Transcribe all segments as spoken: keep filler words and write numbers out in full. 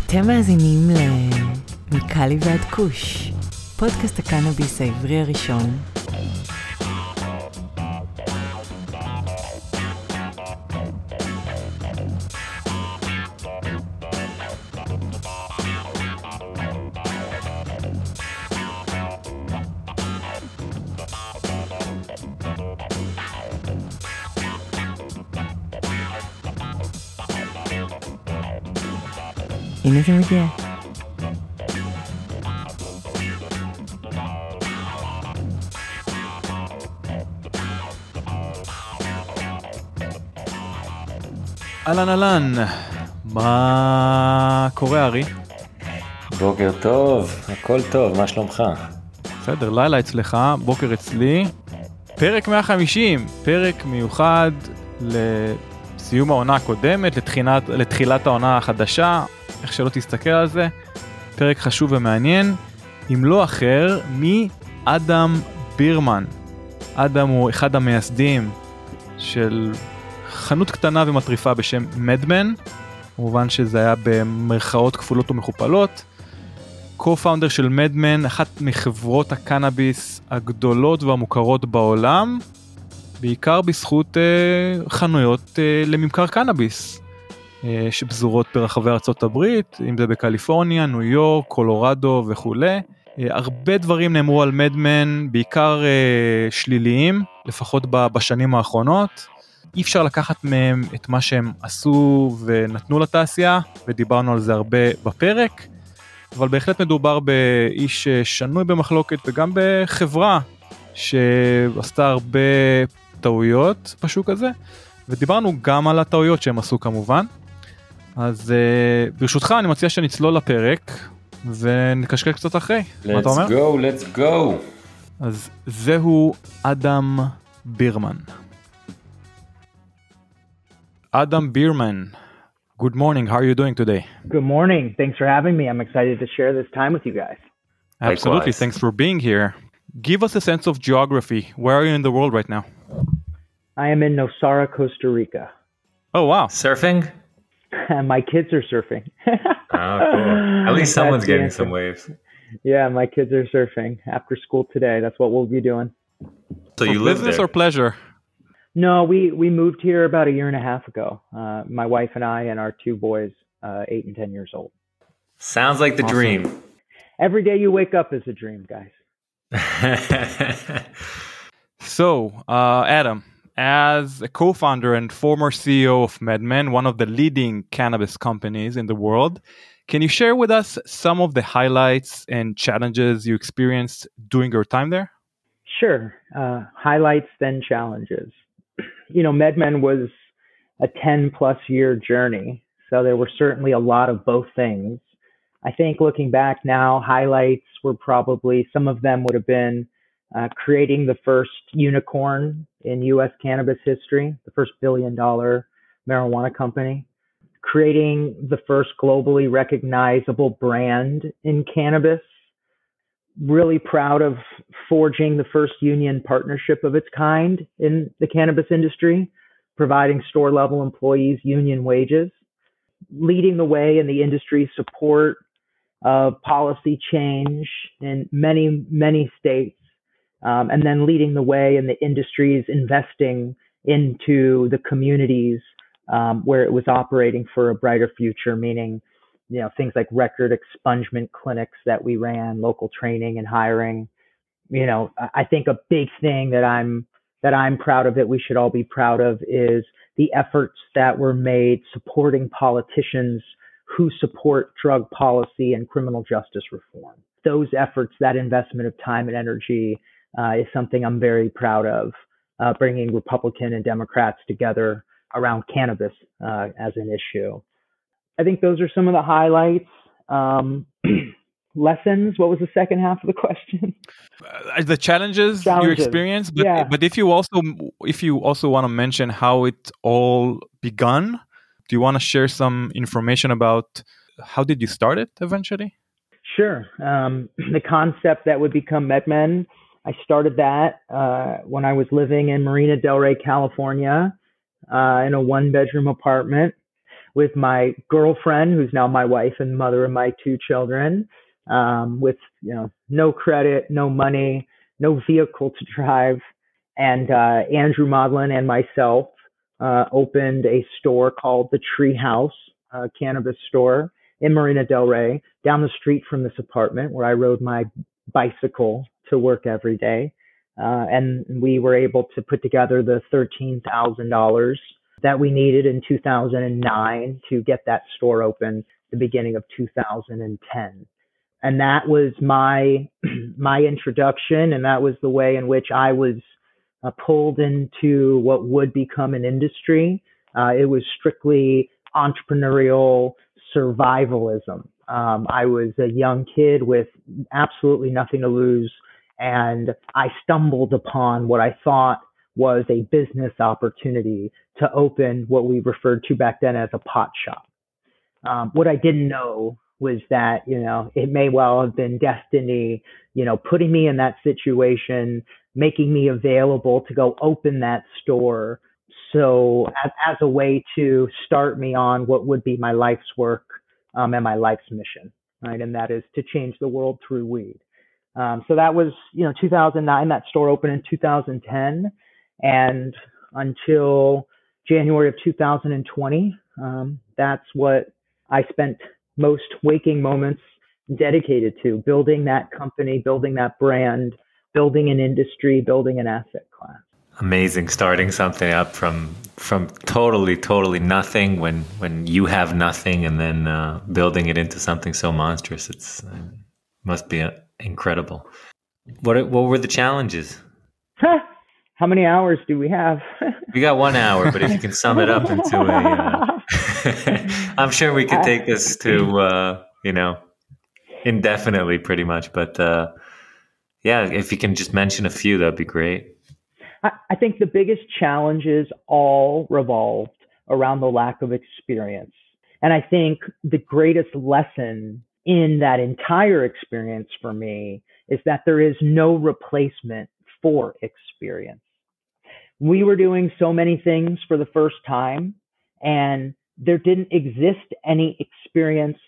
אתם מאזינים למיקלי ועד כוש, פודקאסט הקנאביס העברי הראשון. הנה זה מגיע. אהלן אהלן, מה קורה ארי? בוקר טוב, הכל טוב, מה שלומך? בסדר, לילה אצלך, בוקר אצלי. פרק מאה וחמישים, פרק מיוחד לסיום העונה הקודמת, לתחילת, לתחילת העונה החדשה, איך שלא תסתכל על זה. פרק חשוב ומעניין, אם לא אחר, מאדם בירמן. אדם הוא אחד המייסדים של חנות קטנה ומטריפה בשם מדמן, כמובן שזה היה במרכאות כפולות ומכופלות. קו-פאונדר של מדמן, אחת מחברות הקנאביס הגדולות והמוכרות בעולם, בעיקר בזכות אה, חנויות אה, לממכר קנאביס, אה, שבזורות ברחבי ארצות הברית, אם זה בקליפורניה, ניו יורק, קולורדו וכו'. אה, הרבה דברים נאמרו על מדמן, בעיקר אה, שליליים, לפחות בשנים האחרונות. אי אפשר לקחת מהם את מה שהם עשו ונתנו לתעשייה, ודיברנו על זה הרבה בפרק, אבל בהחלט מדובר באיש שנוי במחלוקת, וגם בחברה שעשתה הרבה טעויות בשוק הזה, ודיברנו גם על הטעויות שהם עשו כמובן. אז ברשותך אני מציע שנצלול לפרק, ונקשקל קצת אחרי. מה אתה אומר? Let's go, let's go. אז זהו אדם בירמן. Adam Bierman, good morning. How are you doing today? Good morning. Thanks for having me. I'm excited to share this time with you guys. Absolutely. Likewise. Thanks for being here. Give us a sense of geography. Where are you in the world right now? I am in Nosara, Costa Rica. Oh, wow. Surfing? My kids are surfing. Oh, cool. At least someone's That's the getting answer. some waves. Yeah, my kids are surfing after school today. That's what we'll be doing. So For you live business there? or pleasure? No, we, we moved here about a year and a half ago. Uh, my wife and I and our two boys, uh, eight and ten years old. Sounds like the Awesome. dream. Every day you wake up is a dream, guys. So, uh, Adam, as a co-founder and former C E O of MedMen, one of the leading cannabis companies in the world, can you share with us some of the highlights and challenges you experienced during your time there? Sure. Uh, highlights, then challenges. You know, MedMen was a ten plus year journey. So there were certainly a lot of both things. I think looking back now, highlights were probably, some of them would have been uh, creating the first unicorn in U S cannabis history, the first billion dollar marijuana company, creating the first globally recognizable brand in cannabis. Really proud of forging the first union partnership of its kind in the cannabis industry, providing store-level employees union wages, leading the way in the industry's support of policy change in many, many states, um, and then leading the way in the industry's investing into the communities um, where it was operating for a brighter future, meaning you know, things like record expungement clinics that we ran, local training and hiring. You know, I think a big thing that I'm, that I'm proud of, that we should all be proud of, is the efforts that were made supporting politicians who support drug policy and criminal justice reform. Those efforts, that investment of time and energy uh, is something I'm very proud of, uh, bringing Republican and Democrats together around cannabis uh, as an issue. I think those are some of the highlights. Um, lessons. What was the second half of the question? Uh, the challenges, Challenges. you experienced, but, Yeah. but if you also if you also want to mention how it all begun, do you want to share some information about how did you start it eventually? Sure. Um, the concept that would become MedMen, I started that uh, when I was living in Marina Del Rey, California, uh, in a one-bedroom apartment. with my girlfriend, who's now my wife and mother of my two children, um, with, you know, no credit, no money, no vehicle to drive. And uh, Andrew Modlin and myself uh, opened a store called the Tree House uh, Cannabis Store in Marina Del Rey, down the street from this apartment where I rode my bicycle to work every day. Uh, and we were able to put together the thirteen thousand dollars that we needed in two thousand nine to get that store open the beginning of two thousand ten. And that was my my introduction, and that was the way in which I was uh, pulled into what would become an industry. Uh, it was strictly entrepreneurial survivalism. Um, I was a young kid with absolutely nothing to lose, and I stumbled upon what I thought was a business opportunity to open what we referred to back then as a pot shop. Um, what I didn't know was that, you know, it may well have been destiny, you know, putting me in that situation, making me available to go open that store. So as, as a way to start me on what would be my life's work um, and my life's mission, right? And that is to change the world through weed. Um, so that was, you know, two thousand nine, that store opened in two thousand ten. And until January of two thousand twenty, um, that's what I spent most waking moments dedicated to, building that company, building that brand, building an industry, building an asset class. Amazing, starting something up from from totally, totally nothing when when you have nothing, and then uh, building it into something so monstrous. It's it must be uh, incredible. What what were the challenges? How many hours do we have? We got one hour, but if you can sum it up into a, uh, I'm sure we could take this to uh, you know indefinitely, pretty much. But uh, yeah, if you can just mention a few, that'd be great. I think the biggest challenges all revolved around the lack of experience. And I think the greatest lesson in that entire experience for me is that there is no replacement for experience. We were doing so many things for the first time, and there didn't exist any experience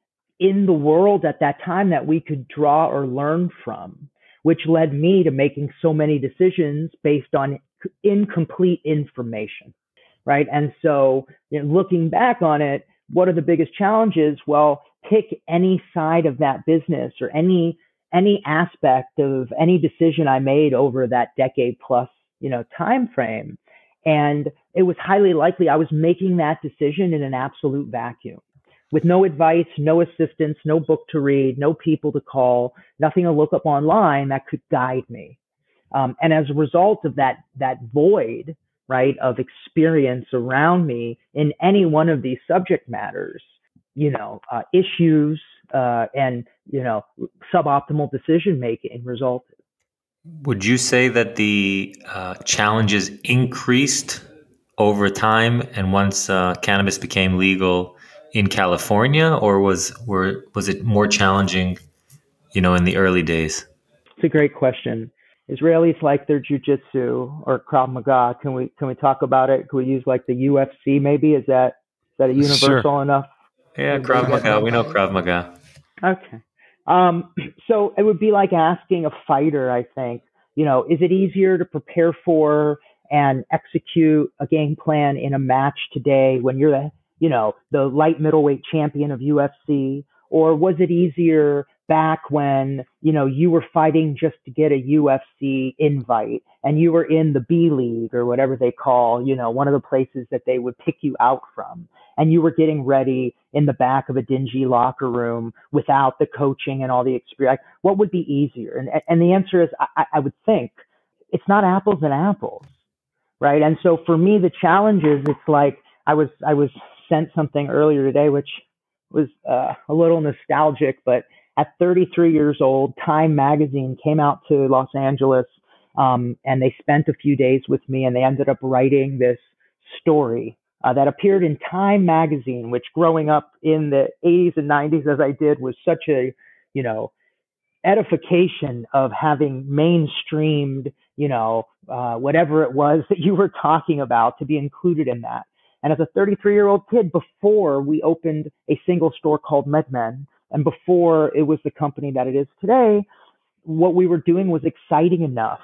in the world at that time that we could draw or learn from, which led me to making so many decisions based on incomplete information, right? And so, you know, looking back on it, what are the biggest challenges? Well, pick any side of that business or any any aspect of any decision I made over that decade plus, you know, time frame, and it was highly likely I was making that decision in an absolute vacuum, with no advice, no assistance, no book to read, no people to call, nothing to look up online that could guide me. Um, and as a result of that, that void, right, of experience around me in any one of these subject matters, you know, uh, issues uh, and, you know, suboptimal decision making resulted. Would you say that the uh, challenges increased over time and once uh, cannabis became legal in California, or was were was it more challenging, you know, in the early days? It's a great question. Israelis like their jujitsu or Krav Maga. Can we can we talk about it? Can we use like the U F C maybe? Is that is that a universal Sure. enough? Yeah, Krav Maga. We know Krav Maga. Okay. Um, so it would be like asking a fighter, I think, you know, is it easier to prepare for and execute a game plan in a match today when you're the, you know, the light middleweight champion of U F C? Or was it easier back when, you know, you were fighting just to get a U F C invite and you were in the B League or whatever they call, you know, one of the places that they would pick you out from, and you were getting ready in the back of a dingy locker room without the coaching and all the experience? What would be easier? And, and the answer is, I, I would think it's not apples and apples, right? And so for me, the challenge is, it's like I was, I was sent something earlier today, which was uh, a little nostalgic, but at thirty-three years old, Time magazine came out to Los Angeles, um, and they spent a few days with me, and they ended up writing this story uh, that appeared in Time magazine, which growing up in the eighties and nineties, as I did, was such a, you know, edification of having mainstreamed, you know, uh, whatever it was that you were talking about, to be included in that. And as a thirty-three year old kid, before we opened a single store called MedMen, and before it was the company that it is today, what we were doing was exciting enough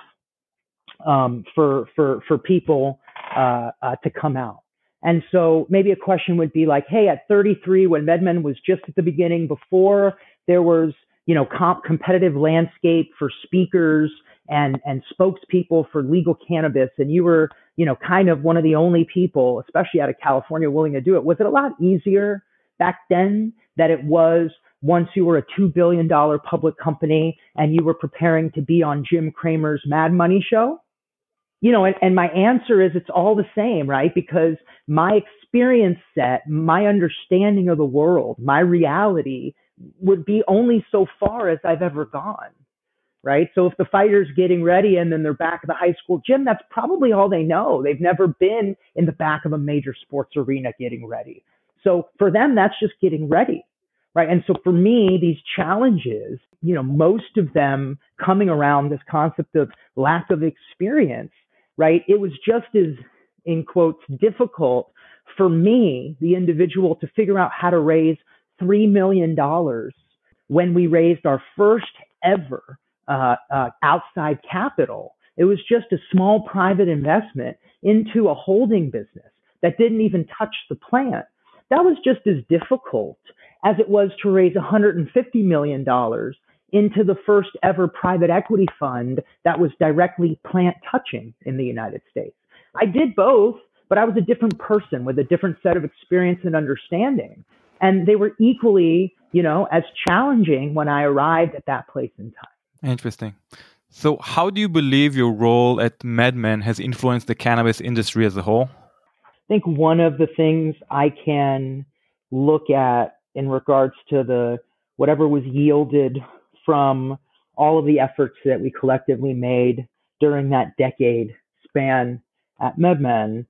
um, for for for people uh, uh, to come out. And so maybe a question would be like, hey, at thirty-three, when MedMen was just at the beginning, before there was, you know, comp- competitive landscape for speakers and and spokespeople for legal cannabis, and you were, you know, kind of one of the only people, especially out of California, willing to do it. Was it a lot easier back then that it was once you were a two billion dollars public company and you were preparing to be on Jim Cramer's Mad Money show? You know, and, and my answer is it's all the same, right? Because my experience set, my understanding of the world, my reality would be only so far as I've ever gone, right? So if the fighter's getting ready and then they're back at the high school gym, that's probably all they know. They've never been in the back of a major sports arena getting ready. So for them, that's just getting ready, right? And so for me, these challenges, you know, most of them coming around this concept of lack of experience, right? It was just as, in quotes, difficult for me, the individual, to figure out how to raise three million dollars when we raised our first ever uh, uh, outside capital. It was just a small private investment into a holding business that didn't even touch the plant. That was just as difficult as it was to raise one hundred fifty million dollars into the first ever private equity fund that was directly plant touching in the United States. I did both, but I was a different person with a different set of experience and understanding. And they were equally, you know, as challenging when I arrived at that place in time. Interesting. So how do you believe your role at MedMen has influenced the cannabis industry as a whole? I think one of the things I can look at in regards to the whatever was yielded from all of the efforts that we collectively made during that decade span at MedMen,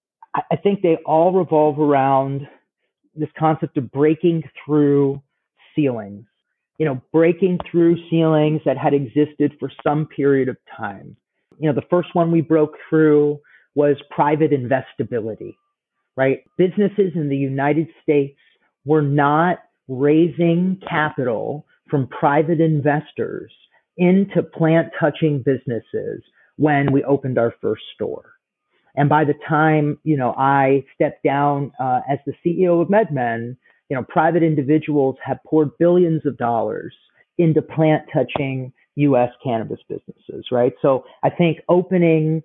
I think they all revolve around this concept of breaking through ceilings, you know, breaking through ceilings that had existed for some period of time. You know, the first one we broke through was private investability, right? Businesses in the United States were not raising capital from private investors into plant-touching businesses when we opened our first store. And by the time, you know, I stepped down uh, as the C E O of MedMen, you know, private individuals have poured billions of dollars into plant-touching U S cannabis businesses, right? So I think opening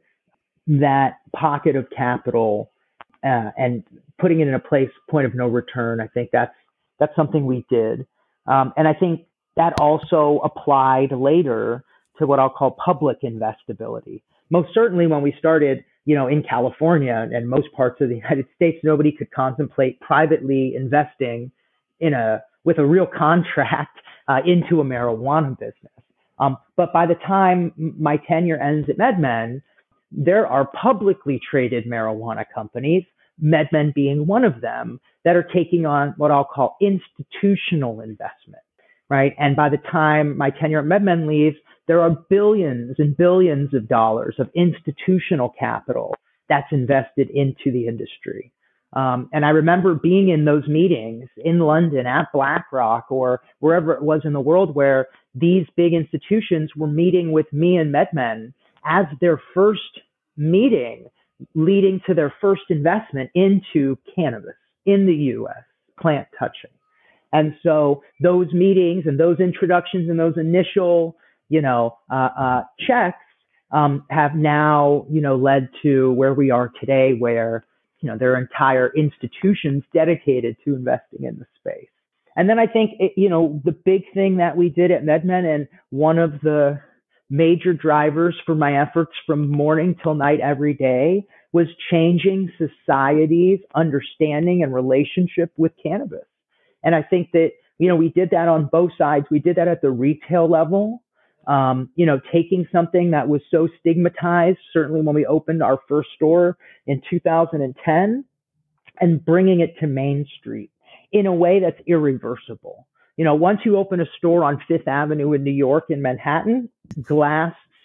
that pocket of capital uh, and putting it in a place, point of no return, I think that's that's something we did. Um, and I think that also applied later to what I'll call public investability. Most certainly when we started, you know, in California and most parts of the United States, nobody could contemplate privately investing in a with a real contract uh, into a marijuana business. Um, but by the time my tenure ends at MedMen, there are publicly traded marijuana companies, MedMen being one of them, that are taking on what I'll call institutional investment, right? And by the time my tenure at MedMen leaves, there are billions and billions of dollars of institutional capital that's invested into the industry. Um, and I remember being in those meetings in London at BlackRock or wherever it was in the world where these big institutions were meeting with me and MedMen as their first meeting leading to their first investment into cannabis in the U S, plant touching. And so those meetings and those introductions and those initial, you know, uh, uh, checks um, have now, you know, led to where we are today, where, you know, there are entire institutions dedicated to investing in the space. And then I think, it, you know, the big thing that we did at MedMen, and one of the major drivers for my efforts from morning till night every day, was changing society's understanding and relationship with cannabis. And I think that, you know, we did that on both sides. We did that at the retail level, um, you know, taking something that was so stigmatized, certainly when we opened our first store in two thousand ten, and bringing it to Main Street in a way that's irreversible. You know, once you open a store on Fifth Avenue in New York, in Manhattan, glass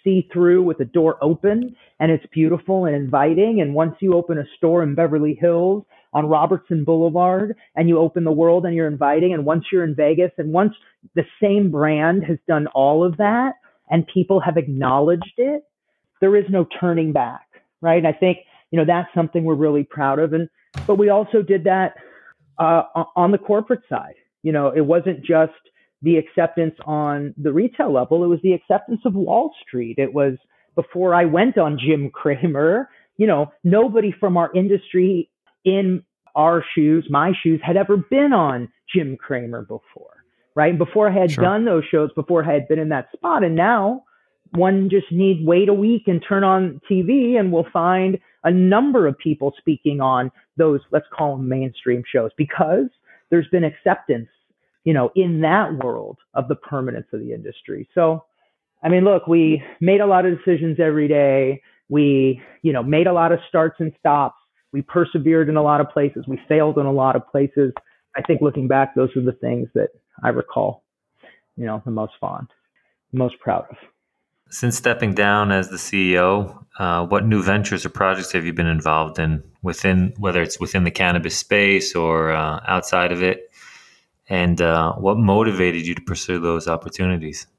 see through with the door open, and it's beautiful and inviting. And once you open a store in Beverly Hills on Robertson Boulevard, and you open the world and you're inviting, and once you're in Vegas, and once the same brand has done all of that and people have acknowledged it, there is no turning back, right? And I think, you know, that's something we're really proud of. And, but we also did that uh, on the corporate side. You know, it wasn't just the acceptance on the retail level, it was the acceptance of Wall Street. It was before I went on Jim Cramer, you know, nobody from our industry in our shoes, my shoes, had ever been on Jim Cramer before, right? And before I had Sure. done those shows, before I had been in that spot. And now one just needs wait a week and turn on T V and we'll find a number of people speaking on those, let's call them mainstream shows, because there's been acceptance, you know, in that world of the permanence of the industry. So, I mean, look, we made a lot of decisions every day. We, you know, made a lot of starts and stops. We persevered in a lot of places. We failed in a lot of places. I think looking back, those are the things that I recall, you know, the most fond, most proud of. Since stepping down as the C E O, uh, what new ventures or projects have you been involved in within, whether it's within the cannabis space or uh, outside of it? And uh, what motivated you to pursue those opportunities?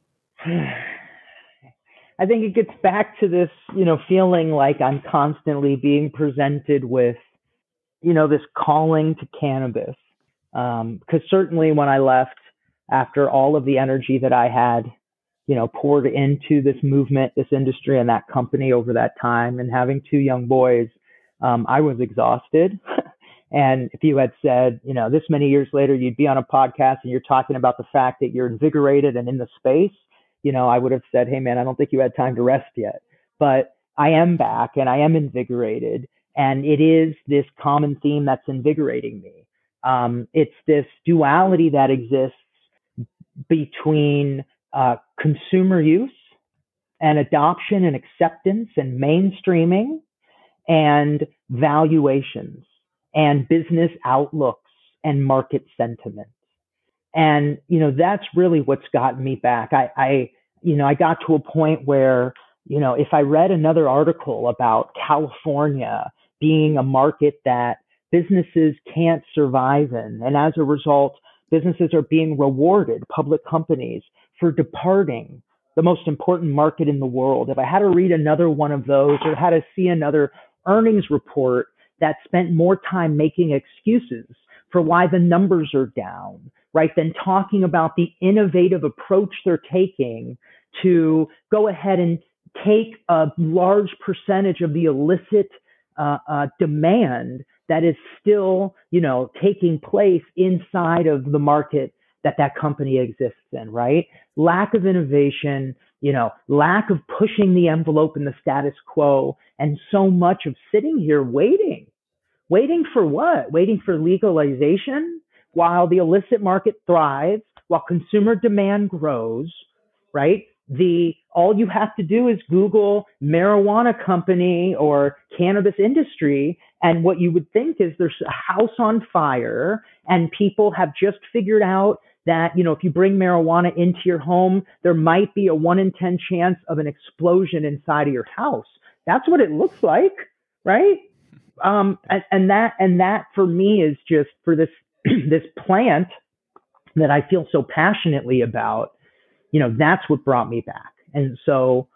I think it gets back to this, you know, feeling like I'm constantly being presented with, you know, this calling to cannabis. Um, because certainly when I left, after all of the energy that I had, you know, poured into this movement, this industry, and that company over that time, and having two young boys, um, I was exhausted. And if you had said, you know, this many years later, you'd be on a podcast and you're talking about the fact that you're invigorated and in the space, you know, I would have said, hey, man, I don't think you had time to rest yet. But I am back and I am invigorated. And it is this common theme that's invigorating me. Um, it's this duality that exists between uh, consumer use and adoption and acceptance and mainstreaming and valuations and business outlooks and market sentiment. And, you know, that's really what's gotten me back. I, I, you know, I got to a point where, you know, if I read another article about California being a market that businesses can't survive in, and as a result, businesses are being rewarded, public companies, for departing the most important market in the world. If I had to read another one of those or had to see another earnings report that spent more time making excuses for why the numbers are down, right, than talking about the innovative approach they're taking to go ahead and take a large percentage of the illicit uh, uh, demand that is still, you know, taking place inside of the market that that company exists in, right? Lack of innovation, you know, lack of pushing the envelope in the status quo, and so much of sitting here waiting. Waiting for what? Waiting for legalization while the illicit market thrives, while consumer demand grows, right? The all you have to do is Google marijuana company or cannabis industry, and what you would think is there's a house on fire, and people have just figured out that, you know, if you bring marijuana into your home, there might be a one in ten chance of an explosion inside of your house. That's what it looks like, right? Um, and, and that and that for me is just for this this plant that I feel so passionately about. You know, that's what brought me back. And so,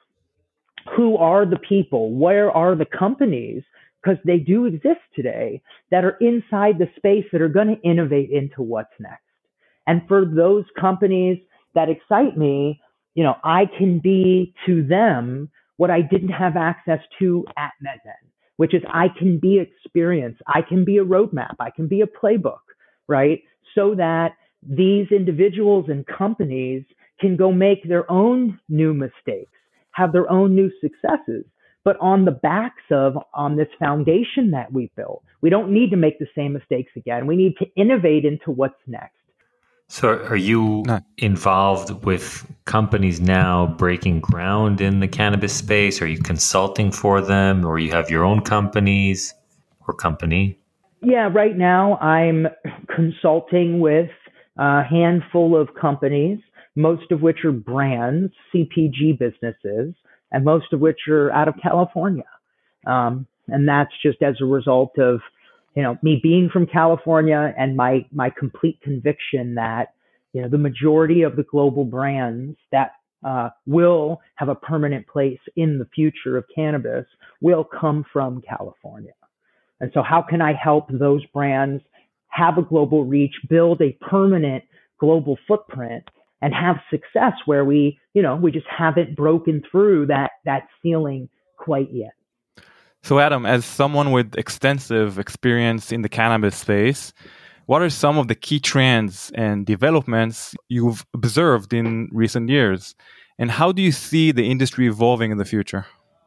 who are the people? Where are the companies? Because they do exist today that are inside the space that are going to innovate into what's next. And for those companies that excite me, you know, I can be to them what I didn't have access to at MedMen, which is I can be experience, I can be a roadmap, I can be a playbook, right? So that these individuals and companies can go make their own new mistakes, have their own new successes, but on the backs of, on this foundation that we built. We don't need to make the same mistakes again. We need to innovate into what's next. So are you No. involved with companies now breaking ground in the cannabis space? Are you consulting for them, or you have your own companies or company? Yeah, right now I'm consulting with a handful of companies, most of which are brands, C P G businesses, and most of which are out of California. Um, and that's just as a result of, you know, me being from California and my, my complete conviction that, you know, the majority of the global brands that uh, will have a permanent place in the future of cannabis will come from California. And so how can I help those brands have a global reach, build a permanent global footprint, and have success where we, you know, we just haven't broken through that, that ceiling quite yet. So Adam, as someone with extensive experience in the cannabis space, what are some of the key trends and developments you've observed in recent years? And how do you see the industry evolving in the future?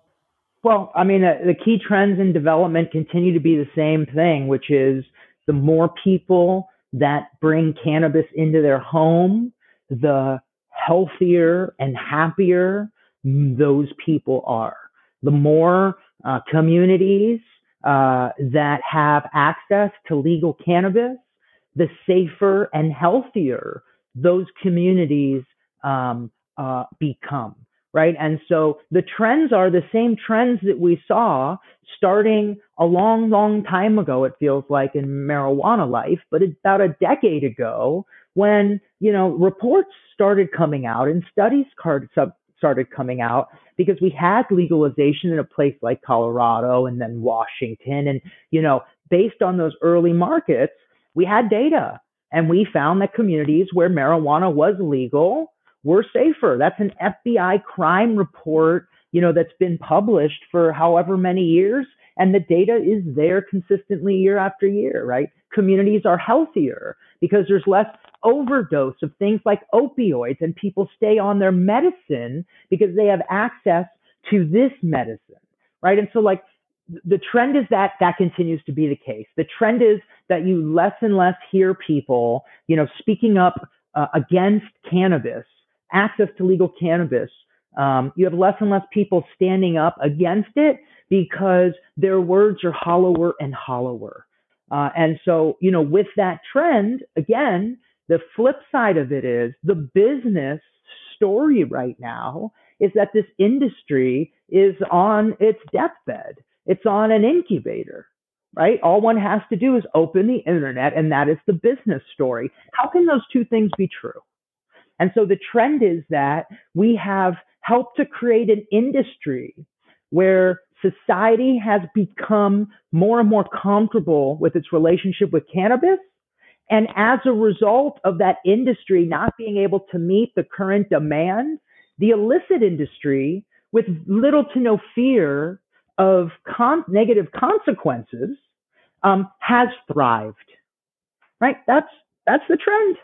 Well, I mean, uh, the key trends in development continue to be the same thing, which is the more people that bring cannabis into their home, the healthier and happier those people are. The more uh, communities uh, that have access to legal cannabis, the safer and healthier those communities um, uh, become. Right. And so the trends are the same trends that we saw starting a long, long time ago, it feels like, in marijuana life, but about a decade ago when, you know, reports started coming out and studies started coming out because we had legalization in a place like Colorado and then Washington. And, you know, based on those early markets, we had data and we found that communities where marijuana was legal we're safer. That's an F B I crime report, you know, that's been published for however many years. And the data is there consistently year after year, right? Communities are healthier because there's less overdose of things like opioids and people stay on their medicine because they have access to this medicine, right? And so like the trend is that that continues to be the case. The trend is that you less and less hear people, you know, speaking up uh, against cannabis, access to legal cannabis. Um, you have less and less people standing up against it because their words are hollower and hollower. Uh, and so, you know, with that trend, again, the flip side of it is the business story right now is that this industry is on its deathbed. It's on an incubator, right? All one has to do is open the internet, and that is the business story. How can those two things be true? And so the trend is that we have helped to create an industry where society has become more and more comfortable with its relationship with cannabis. And as a result of that industry not being able to meet the current demand, the illicit industry, with little to no fear of con- negative consequences, um, has thrived, right? That's, that's the trend.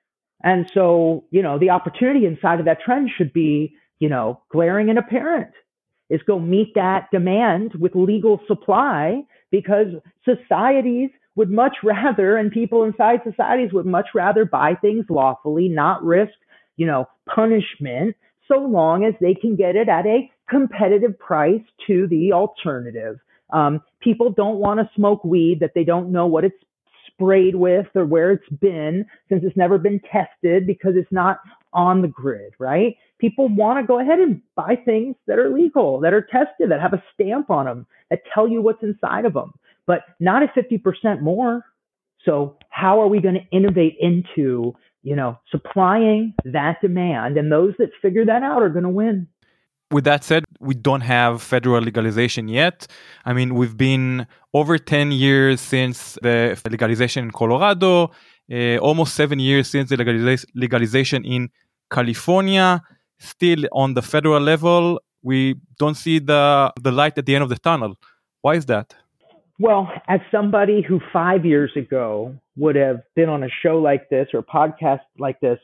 And so, you know, the opportunity inside of that trend should be, you know, glaring and apparent, is go meet that demand with legal supply, because societies would much rather, and people inside societies would much rather buy things lawfully, not risk, you know, punishment, so long as they can get it at a competitive price to the alternative. Um, people don't want to smoke weed that they don't know what it's sprayed with or where it's been, since it's never been tested because it's not on the grid, right? People want to go ahead and buy things that are legal, that are tested, that have a stamp on them, that tell you what's inside of them, but not at fifty percent more. So how are we going to innovate into, you know, supplying that demand? And those that figure that out are going to win. With that said, we don't have federal legalization yet. I mean, we've been over ten years since the legalization in Colorado, uh, almost seven years since the legaliza- legalization in California. Still on the federal level, we don't see the, the light at the end of the tunnel. Why is that? Well, as somebody who five years ago would have been on a show like this or a podcast like this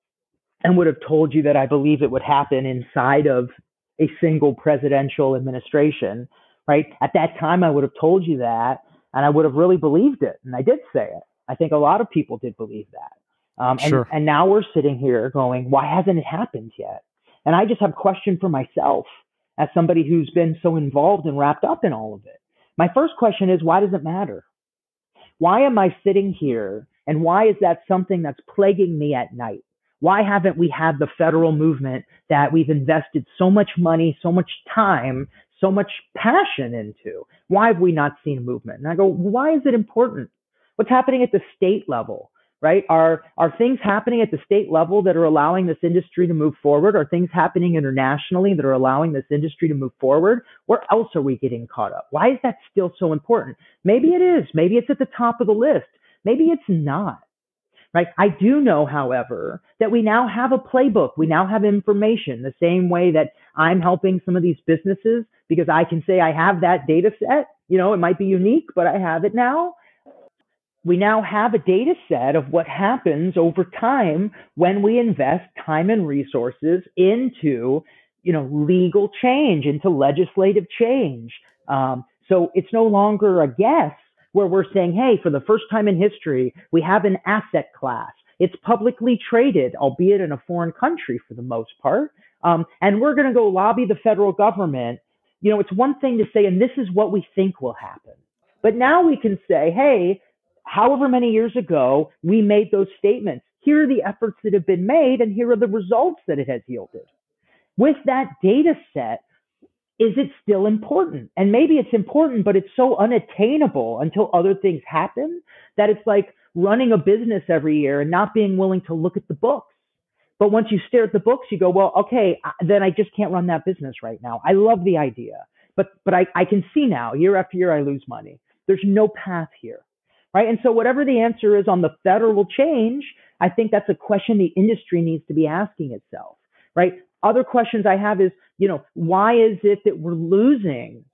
and would have told you that I believe it would happen inside of a single presidential administration, right? At that time, I would have told you that, and I would have really believed it. And I did say it. I think a lot of people did believe that. Um, and, sure. and now we're sitting here going, why hasn't it happened yet? And I just have a question for myself as somebody who's been so involved and wrapped up in all of it. My first question is, why does it matter? Why am I sitting here? And why is that something that's plaguing me at night? Why haven't we had the federal movement that we've invested so much money, so much time, so much passion into? Why have we not seen a movement? And I go, why is it important? What's happening at the state level, right? Are, are things happening at the state level that are allowing this industry to move forward? Are things happening internationally that are allowing this industry to move forward? Where else are we getting caught up? Why is that still so important? Maybe it is. Maybe it's at the top of the list. Maybe it's not. Right. I do know, however, that we now have a playbook. We now have information the same way that I'm helping some of these businesses because I can say I have that data set. You know, it might be unique, but I have it now. We now have a data set of what happens over time when we invest time and resources into, you know, legal change, into legislative change. Um, so it's no longer a guess, where we're saying, hey, for the first time in history, we have an asset class. It's publicly traded, albeit in a foreign country for the most part. Um, and we're going to go lobby the federal government. You know, it's one thing to say, and this is what we think will happen. But now we can say, hey, however many years ago we made those statements, here are the efforts that have been made, and here are the results that it has yielded. With that data set, is it still important? And maybe it's important, but it's so unattainable until other things happen that it's like running a business every year and not being willing to look at the books. But once you stare at the books, you go, well, okay, then I just can't run that business right now. I love the idea, but but I, I can see now year after year I lose money. There's no path here, right? And so whatever the answer is on the federal change, I think that's a question the industry needs to be asking itself, right? Other questions I have is, you know, why is it that we're losing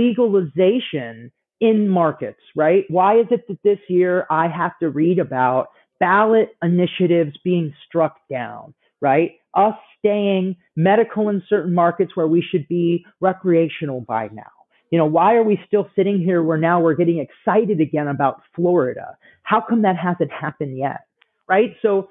legalization in markets, right? Why is it that this year I have to read about ballot initiatives being struck down, right? Us staying medical in certain markets where we should be recreational by now. You know, why are we still sitting here where now we're getting excited again about Florida? How come that hasn't happened yet, right? So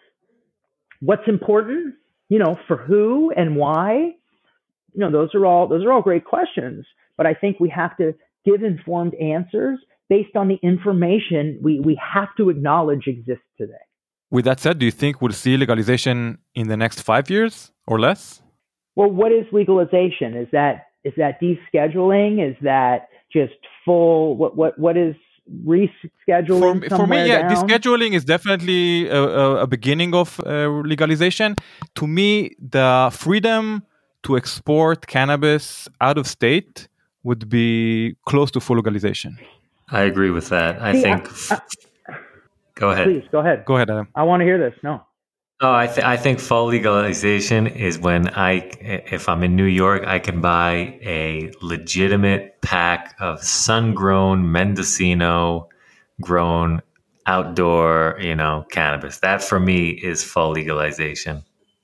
what's important? You know, for who and why, you know, those are all, those are all great questions, but I think we have to give informed answers based on the information we, we have to acknowledge exists today. With that said, do you think we'll see legalization in the next five years or less? Well, what is legalization? Is that, is that descheduling? Is that just full, what, what, what is rescheduling? For, for me, yeah, down? descheduling is definitely a, a beginning of uh, legalization. To me, the freedom to export cannabis out of state would be close to full legalization. I agree with that. I See, think. I, I, go ahead. Please go ahead. Go ahead, Adam. I want to hear this. No. Oh, I, th- I think full legalization is when I, if I'm in New York, I can buy a legitimate pack of sun-grown Mendocino grown outdoor, you know, cannabis. That for me is full legalization.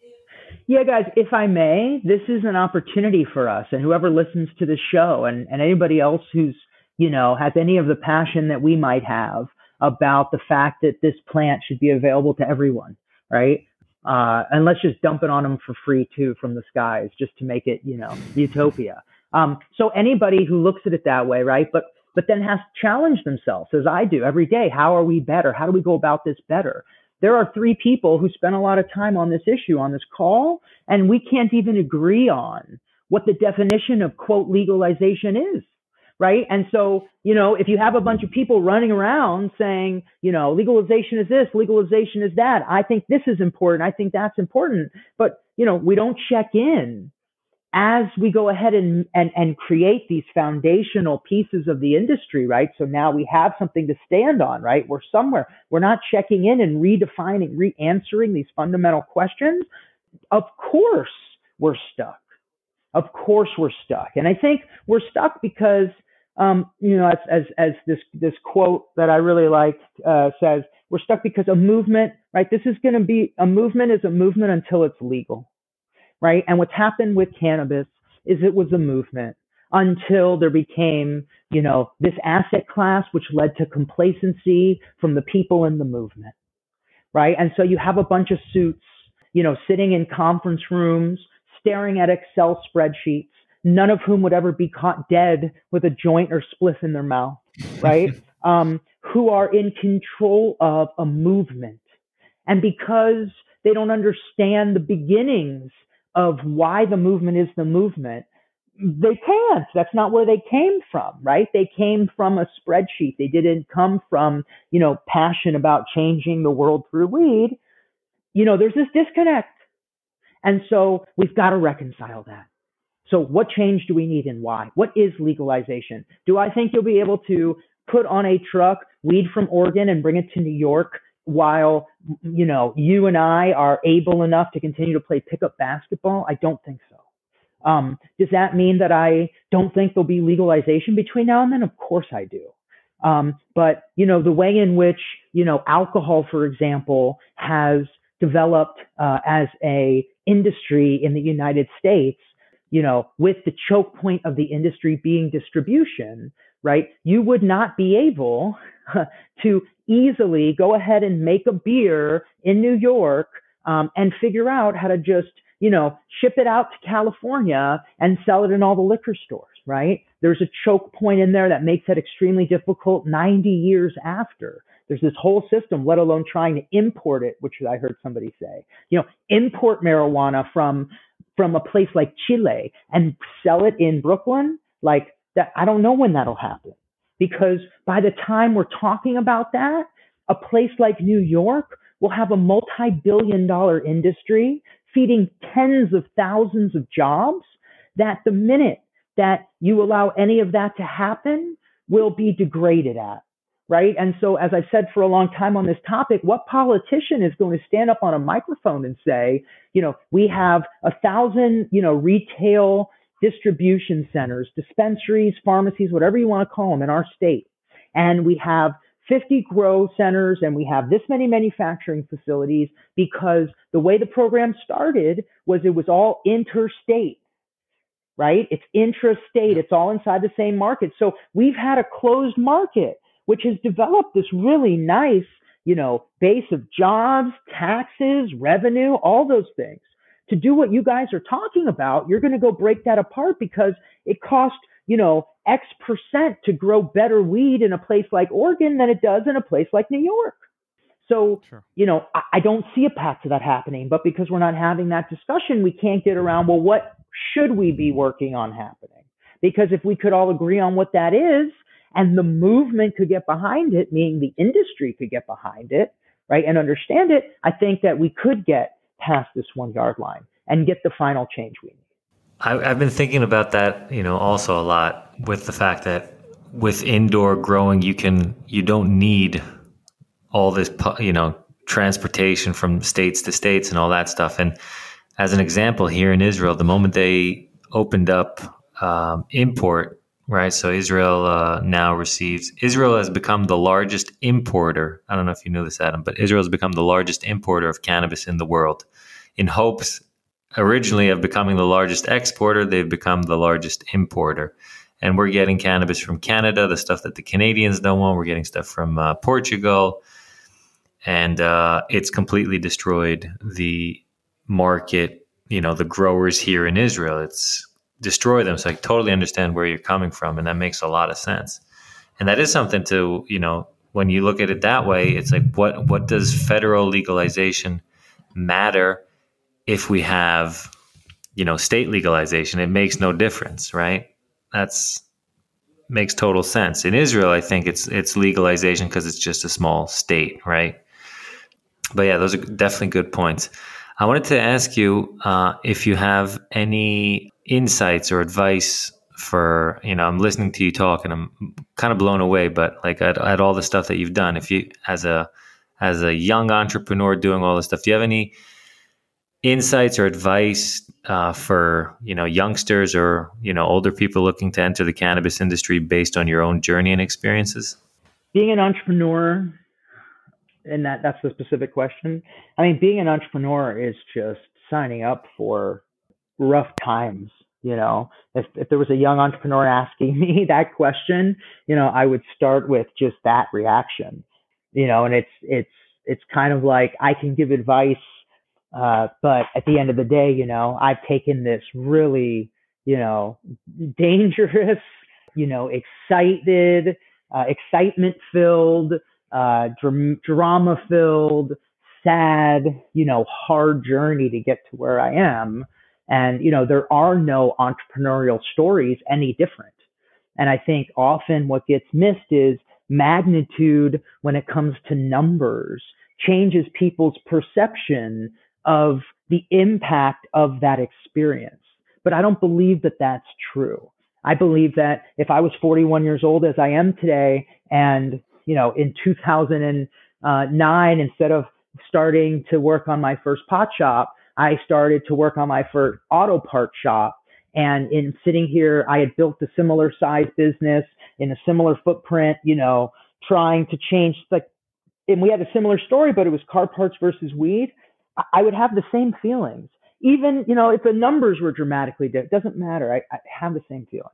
Yeah, guys, if I may, this is an opportunity for us and whoever listens to the show and, and anybody else who's, you know, has any of the passion that we might have about the fact that this plant should be available to everyone. Right. Uh, and let's just dump it on them for free too from the skies just to make it, you know, utopia. Um, so anybody who looks at it that way, right, but but then has to challenge themselves, as I do every day. How are we better? How do we go about this better? There are three people who spent a lot of time on this issue, on this call, and we can't even agree on what the definition of, quote, legalization is. Right. And so, you know, if you have a bunch of people running around saying, you know, legalization is this, legalization is that, I think this is important, I think that's important. But, you know, we don't check in as we go ahead and, and, and create these foundational pieces of the industry. Right. So now we have something to stand on. Right. We're somewhere. We're not checking in and redefining, re-answering these fundamental questions. Of course, we're stuck. Of course we're stuck. And I think we're stuck because, um, you know, as, as, as this, this quote that I really like, uh, says, we're stuck because a movement, right? This is going to be, a movement is a movement until it's legal, right? And what's happened with cannabis is it was a movement until there became, you know, this asset class, which led to complacency from the people in the movement, right? And so you have a bunch of suits, you know, sitting in conference rooms, staring at Excel spreadsheets, none of whom would ever be caught dead with a joint or spliff in their mouth, right? um, who are in control of a movement. And because They don't understand the beginnings of why the movement is the movement. They can't. That's not where they came from, right? They came from a spreadsheet. They didn't come from, you know, passion about changing the world through weed. You know, there's this disconnect. And so we've got to reconcile that. So what change do we need and why? What is legalization? Do I think you'll be able to put on a truck weed from Oregon and bring it to New York while, you know, you and I are able enough to continue to play pickup basketball? I don't think so. Um, does that mean that I don't think there'll be legalization between now and then? Of course I do. Um, but, you know, the way in which, you know, alcohol, for example, has developed uh, as a industry in the United States, you know, with the choke point of the industry being distribution, right? You would not be able to easily go ahead and make a beer in New York um, and figure out how to just, you know, ship it out to California and sell it in all the liquor stores, right? There's a choke point in there that makes it extremely difficult ninety years after. There's this whole system, let alone trying to import it, which I heard somebody say, you know, import marijuana from from a place like Chile and sell it in Brooklyn. Like that, I don't know when that'll happen, because by the time we're talking about that, a place like New York will have a multi-billion dollar industry feeding tens of thousands of jobs that the minute that you allow any of that to happen will be degraded at. Right. And so, as I've said for a long time on this topic, what politician is going to stand up on a microphone and say, you know, we have a thousand, you know, retail distribution centers, dispensaries, pharmacies, whatever you want to call them in our state. And we have fifty grow centers and we have this many manufacturing facilities, because the way the program started was it was all interstate. Right. It's intrastate. It's all inside the same market. So we've had a closed market, which has developed this really nice, you know, base of jobs, taxes, revenue, all those things. To do what you guys are talking about, you're going to go break that apart because it costs, you know, X percent to grow better weed in a place like Oregon than it does in a place like New York. So, sure. you know, I, I don't see a path to that happening, but because we're not having that discussion, we can't get around, well, what should we be working on happening? Because if we could all agree on what that is, and the movement could get behind it, meaning the industry could get behind it, right, and understand it, I think that we could get past this one yard line and get the final change we need. I, I've been thinking about that, you know, also a lot, with the fact that with indoor growing, you can, you don't need all this, you know, transportation from states to states and all that stuff. And as an example, here in Israel, the moment they opened up um, import, right. So Israel uh, now receives, Israel has become the largest importer. I don't know if you knew this, Adam, but Israel has become the largest importer of cannabis in the world. In hopes originally of becoming the largest exporter, they've become the largest importer. And we're getting cannabis from Canada, the stuff that the Canadians don't want. We're getting stuff from uh, Portugal. And uh, it's completely destroyed the market, you know, the growers here in Israel. It's destroy them. So I totally understand where you're coming from. And that makes a lot of sense. And that is something to, you know, when you look at it that way, it's like, what, what does federal legalization matter if we have, you know, state legalization? It makes no difference, right? That's makes total sense. In Israel, I think it's, it's legalization because it's just a small state, right? But yeah, those are definitely good points. I wanted to ask you uh, if you have any insights or advice for, you know, I'm listening to you talk and I'm kind of blown away, but like at, at all the stuff that you've done, if you, as a, as a young entrepreneur doing all this stuff, do you have any insights or advice uh, for, you know, youngsters or, you know, older people looking to enter the cannabis industry based on your own journey and experiences? Being an entrepreneur, and that, that's the specific question. I mean, being an entrepreneur is just signing up for rough times. You know, if, if there was a young entrepreneur asking me that question, you know, I would start with just that reaction, you know, and it's, it's, it's kind of like I can give advice, uh, but at the end of the day, you know, I've taken this really, you know, dangerous, you know, excited, uh, excitement filled, uh, dram- drama filled, sad, you know, hard journey to get to where I am. And, you know, there are no entrepreneurial stories any different. And I think often what gets missed is magnitude when it comes to numbers changes people's perception of the impact of that experience. But I don't believe that that's true. I believe that if I was forty-one years old as I am today, and, you know, in two thousand nine, instead of starting to work on my first pot shop, I started to work on my first auto part shop. And in sitting here, I had built a similar size business in a similar footprint, you know, trying to change, like, and we had a similar story, but it was car parts versus weed. I would have the same feelings. Even, you know, if the numbers were dramatically different, it doesn't matter. I, I have the same feelings.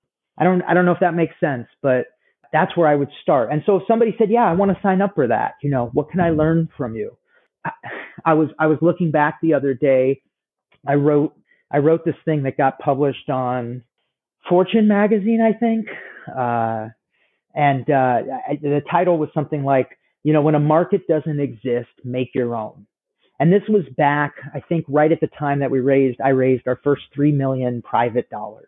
I don't, I don't know if that makes sense, but that's where I would start. And so if somebody said, yeah, I want to sign up for that, you know, what can I learn from you? I, I was, I was looking back the other day. I wrote, I wrote this thing that got published on Fortune magazine, I think. Uh, and uh, I, the title was something like, you know, when a market doesn't exist, make your own. And this was back, I think, right at the time that we raised, I raised our first three million private dollars,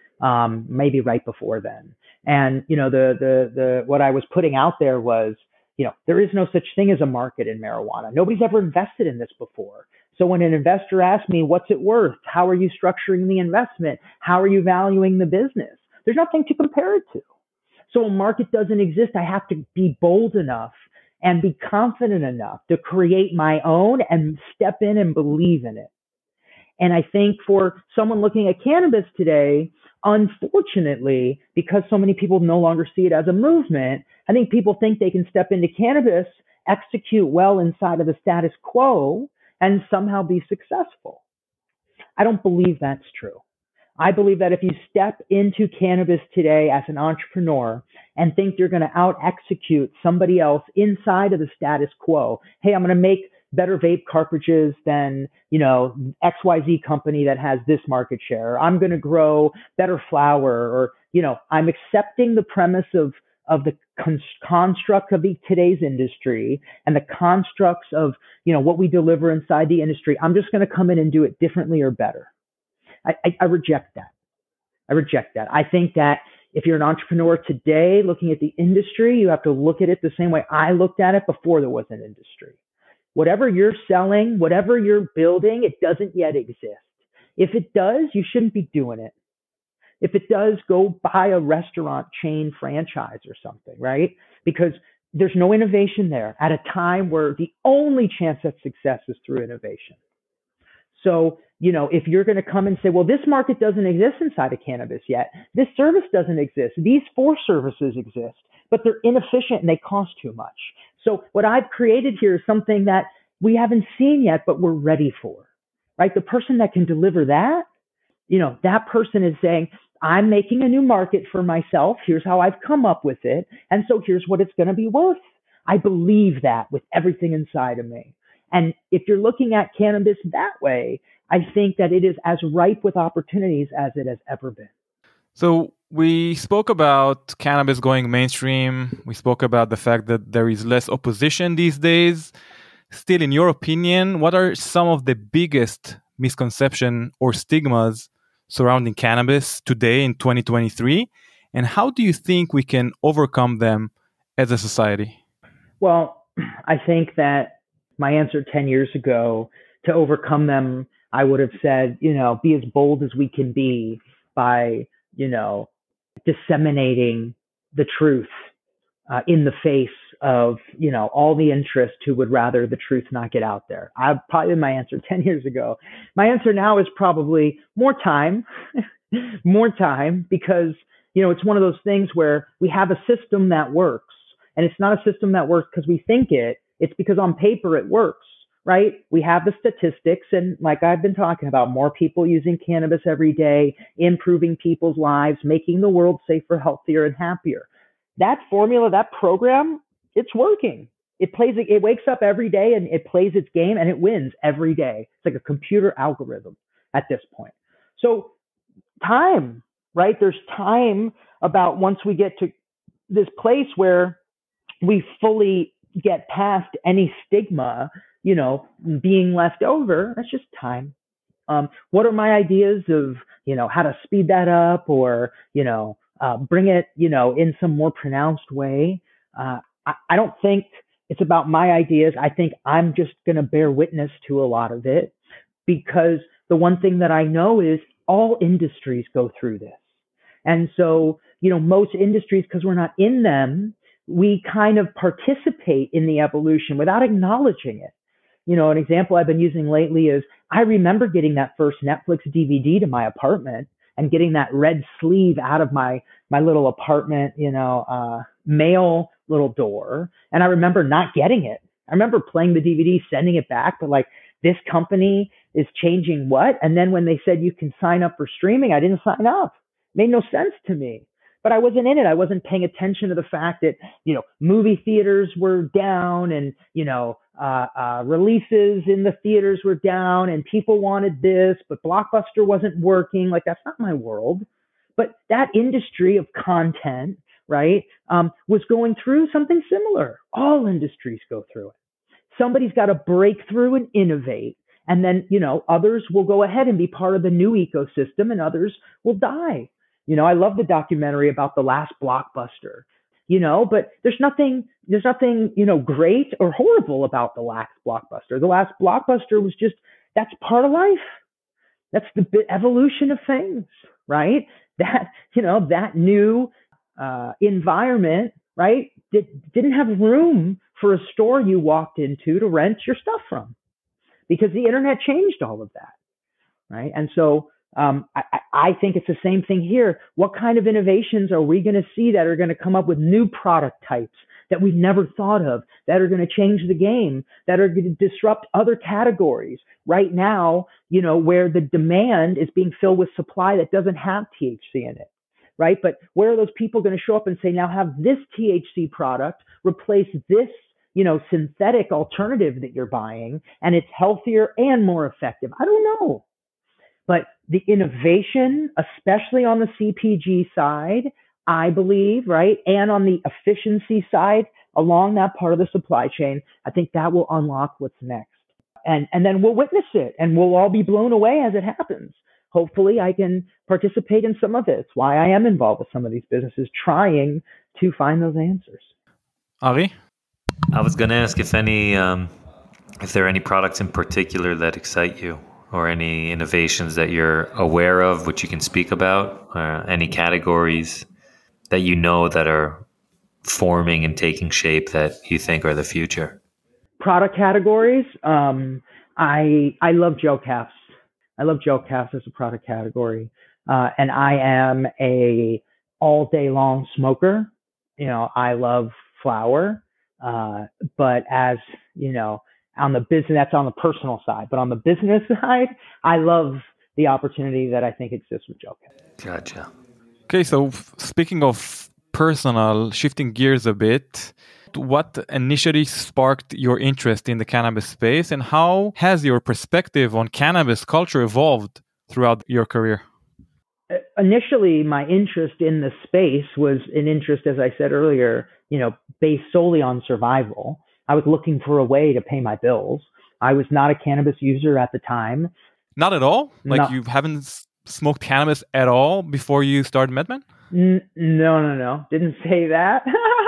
um, maybe right before then. And, you know, the, the, the, what I was putting out there was, you know, there is no such thing as a market in marijuana. Nobody's ever invested in this before. So when an investor asks me, what's it worth? How are you structuring the investment? How are you valuing the business? There's nothing to compare it to. So a market doesn't exist. I have to be bold enough and be confident enough to create my own and step in and believe in it. And I think for someone looking at cannabis today, unfortunately, because so many people no longer see it as a movement, I think people think they can step into cannabis, execute well inside of the status quo, and somehow be successful. I don't believe that's true. I believe that if you step into cannabis today as an entrepreneur and think you're going to out execute somebody else inside of the status quo, hey, I'm going to make better vape cartridges than, you know, X Y Z company that has this market share. I'm going to grow better flower, or, you know, I'm accepting the premise of, of the con- construct of the, today's industry and the constructs of, you know, what we deliver inside the industry. I'm just going to come in and do it differently or better. I, I, I reject that. I reject that. I think that if you're an entrepreneur today looking at the industry, you have to look at it the same way I looked at it before there was an industry. Whatever you're selling, whatever you're building, it doesn't yet exist. If it does, you shouldn't be doing it. If it does, go buy a restaurant chain franchise or something, right? Because there's no innovation there at a time where the only chance at success is through innovation. So, you know, if you're going to come and say, well, this market doesn't exist inside of cannabis yet, this service doesn't exist, these four services exist, but they're inefficient and they cost too much. So what I've created here is something that we haven't seen yet, but we're ready for, right? The person that can deliver that, you know, that person is saying, I'm making a new market for myself. Here's how I've come up with it. And so here's what it's going to be worth. I believe that with everything inside of me. And if you're looking at cannabis that way, I think that it is as ripe with opportunities as it has ever been. So we spoke about cannabis going mainstream. We spoke about the fact that there is less opposition these days. Still, in your opinion, what are some of the biggest misconceptions or stigmas surrounding cannabis today in twenty twenty-three? And how do you think we can overcome them as a society? Well, I think that my answer ten years ago, to overcome them, I would have said, you know, be as bold as we can be by, you know, disseminating the truth uh, in the face of, you know, all the interest who would rather the truth not get out there. I probably my answer ten years ago. My answer now is probably more time, more time, because, you know, it's one of those things where we have a system that works, and it's not a system that works because we think it. It's because on paper it works, right? We have the statistics, and like I've been talking about, more people using cannabis every day, improving people's lives, making the world safer, healthier, and happier. That formula, that program, it's working. It plays, it wakes up every day and it plays its game and it wins every day. It's like a computer algorithm at this point. So time, right? There's time about once we get to this place where we fully get past any stigma, you know, being left over. That's just time. Um, what are my ideas of, you know, how to speed that up or, you know, uh, bring it, you know, in some more pronounced way? Uh, I, I don't think it's about my ideas. I think I'm just going to bear witness to a lot of it, because the one thing that I know is all industries go through this. And so, you know, most industries, because we're not in them, we kind of participate in the evolution without acknowledging it. You know, an example I've been using lately is I remember getting that first Netflix D V D to my apartment and getting that red sleeve out of my, my little apartment, you know, uh, mail little door. And I remember not getting it. I remember playing the D V D, sending it back, but like, this company is changing what? And then when they said you can sign up for streaming, I didn't sign up. It made no sense to me. But I wasn't in it. I wasn't paying attention to the fact that, you know, movie theaters were down and, you know, uh, uh, releases in the theaters were down and people wanted this, but Blockbuster wasn't working. Like, that's not my world. But that industry of content, right, um, was going through something similar. All industries go through it. Somebody's got to break through and innovate. And then, you know, others will go ahead and be part of the new ecosystem and others will die. You know, I love the documentary about the last Blockbuster, you know, but there's nothing, there's nothing, you know, great or horrible about the last Blockbuster. The last Blockbuster was just, that's part of life. That's the evolution of things, right? That, you know, that new uh, environment, right, did, didn't have room for a store you walked into to rent your stuff from, because the internet changed all of that, right? And so um, I, I think it's the same thing here. What kind of innovations are we going to see that are going to come up with new product types that we've never thought of, that are going to change the game, that are going to disrupt other categories right now, you know, where the demand is being filled with supply that doesn't have T H C in it, right? But where are those people going to show up and say, now have this T H C product replace this, you know, synthetic alternative that you're buying, and it's healthier and more effective? I don't know. But the innovation, especially on the C P G side, I believe, right, and on the efficiency side, along that part of the supply chain, I think that will unlock what's next. And, and then we'll witness it, and we'll all be blown away as it happens. Hopefully I can participate in some of it. It's why I am involved with some of these businesses, trying to find those answers. Ari? I was going to ask if any, um, if there are any products in particular that excite you, or any innovations that you're aware of, which you can speak about, or any categories that you know that are forming and taking shape that you think are the future. Product categories. Um, I I love gel caps. I love gel caps as a product category, uh, and I am a all day long smoker. You know, I love flower, uh, but as you know, on the business, that's on the personal side. But on the business side, I love the opportunity that I think exists with gel caps. Gotcha. Okay, so speaking of personal, shifting gears a bit, what initially sparked your interest in the cannabis space, and how has your perspective on cannabis culture evolved throughout your career? Initially, my interest in the space was an interest, as I said earlier, you know, based solely on survival. I was looking for a way to pay my bills. I was not a cannabis user at the time. Not at all? Like No. you haven't smoked cannabis at all before you started MedMen? N- no, no, no. Didn't say that.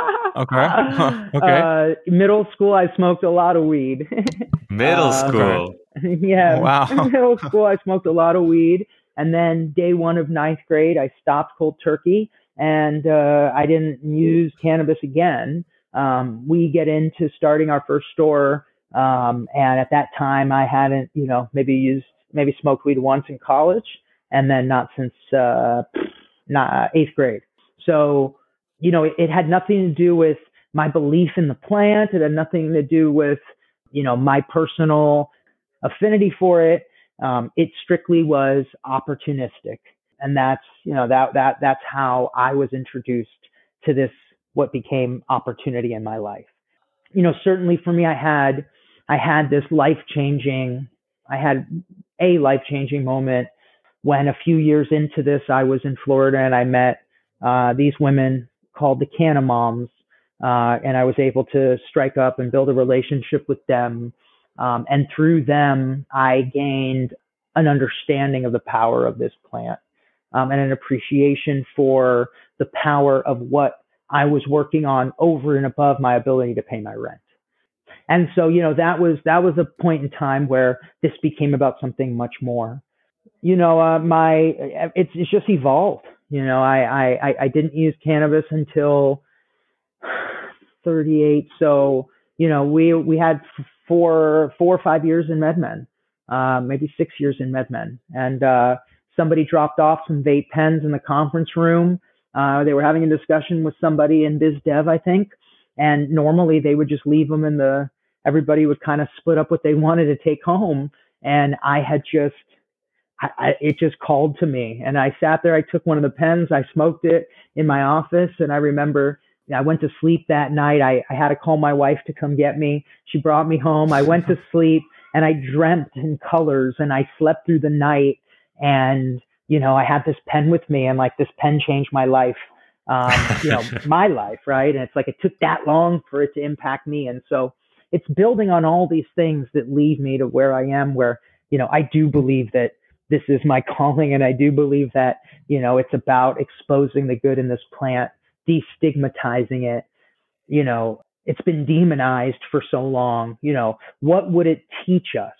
Okay. Okay. Uh, middle school, I smoked a lot of weed. Middle Uh, school. yeah. Wow. Middle school, I smoked a lot of weed. And then day one of ninth grade, I stopped cold turkey, and uh, I didn't use cannabis again. Um, we get into starting our first store. Um, and at that time I hadn't, you know, maybe used, maybe smoked weed once in college, and then not since, uh, not eighth grade. So, you know, it, it had nothing to do with my belief in the plant. It had nothing to do with, you know, my personal affinity for it. Um, it strictly was opportunistic. And that's, you know, that, that, that's how I was introduced to this, what became opportunity in my life. You know, certainly for me, I had, I had this life-changing, I had a life-changing moment when a few years into this, I was in Florida and I met uh, these women called the Canna Moms, uh, and I was able to strike up and build a relationship with them. Um, and through them, I gained an understanding of the power of this plant, um, and an appreciation for the power of what I was working on over and above my ability to pay my rent. And so, you know, that was, that was a point in time where this became about something much more. You know, uh, my, it's, it's just evolved. You know, I, I, I didn't use cannabis until thirty-eight. So, you know, we, we had four, four or five years in MedMen, uh, maybe six years in MedMen. And, uh, somebody dropped off some vape pens in the conference room. Uh, they were having a discussion with somebody in biz dev, I think. And normally they would just leave them in the, everybody would kind of split up what they wanted to take home. And I had just, I, I, it just called to me. And I sat there, I took one of the pens, I smoked it in my office. And I remember I went to sleep that night. I, I had to call my wife to come get me. She brought me home. I went to sleep and I dreamt in colors and I slept through the night. And, you know, I had this pen with me and like this pen changed my life. Um, you know, my life, right? And it's like, it took that long for it to impact me. And so it's building on all these things that lead me to where I am, where, you know, I do believe that this is my calling. And I do believe that, you know, it's about exposing the good in this plant, destigmatizing it. You know, it's been demonized for so long. You know, what would it teach us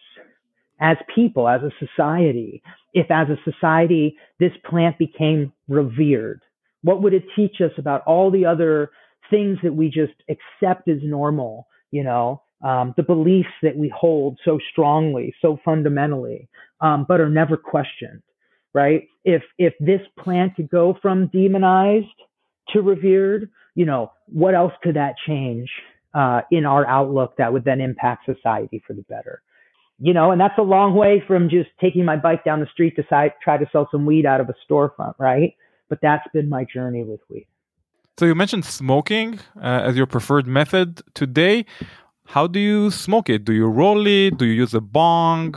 as people, as a society, if as a society, this plant became revered? What would it teach us about all the other things that we just accept as normal, you know, um, the beliefs that we hold so strongly, so fundamentally, um, but are never questioned, right? If, if this plant could go from demonized to revered, you know, what else could that change uh, in our outlook that would then impact society for the better? You know, and that's a long way from just taking my bike down the street to si- try to sell some weed out of a storefront, right? But that's been my journey with weed. So you mentioned smoking uh, as your preferred method today. How do you smoke it? Do you roll it? Do you use a bong?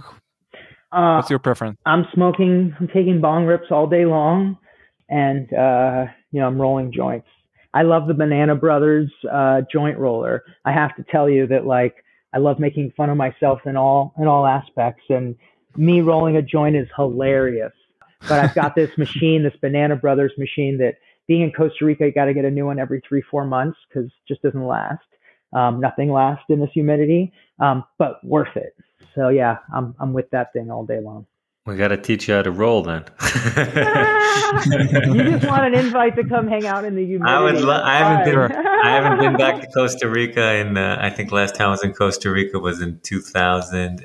Uh, What's your preference? I'm smoking, I'm taking bong rips all day long, and, uh, you know, I'm rolling joints. I love the Banana Brothers uh, joint roller. I have to tell you that, like, I love making fun of myself in all in all aspects, and me rolling a joint is hilarious. But I've got this machine, this Banana Brothers machine, that being in Costa Rica, you got to get a new one every three, four months because it just doesn't last. Um, nothing lasts in this humidity, um, but worth it. So yeah, I'm I'm with that thing all day long. We got to teach you how to roll then. You just want an invite to come hang out in the humidity. I would. Lo- I haven't been. Fine. I haven't been back to Costa Rica, and uh, I think last time I was in Costa Rica was in two thousand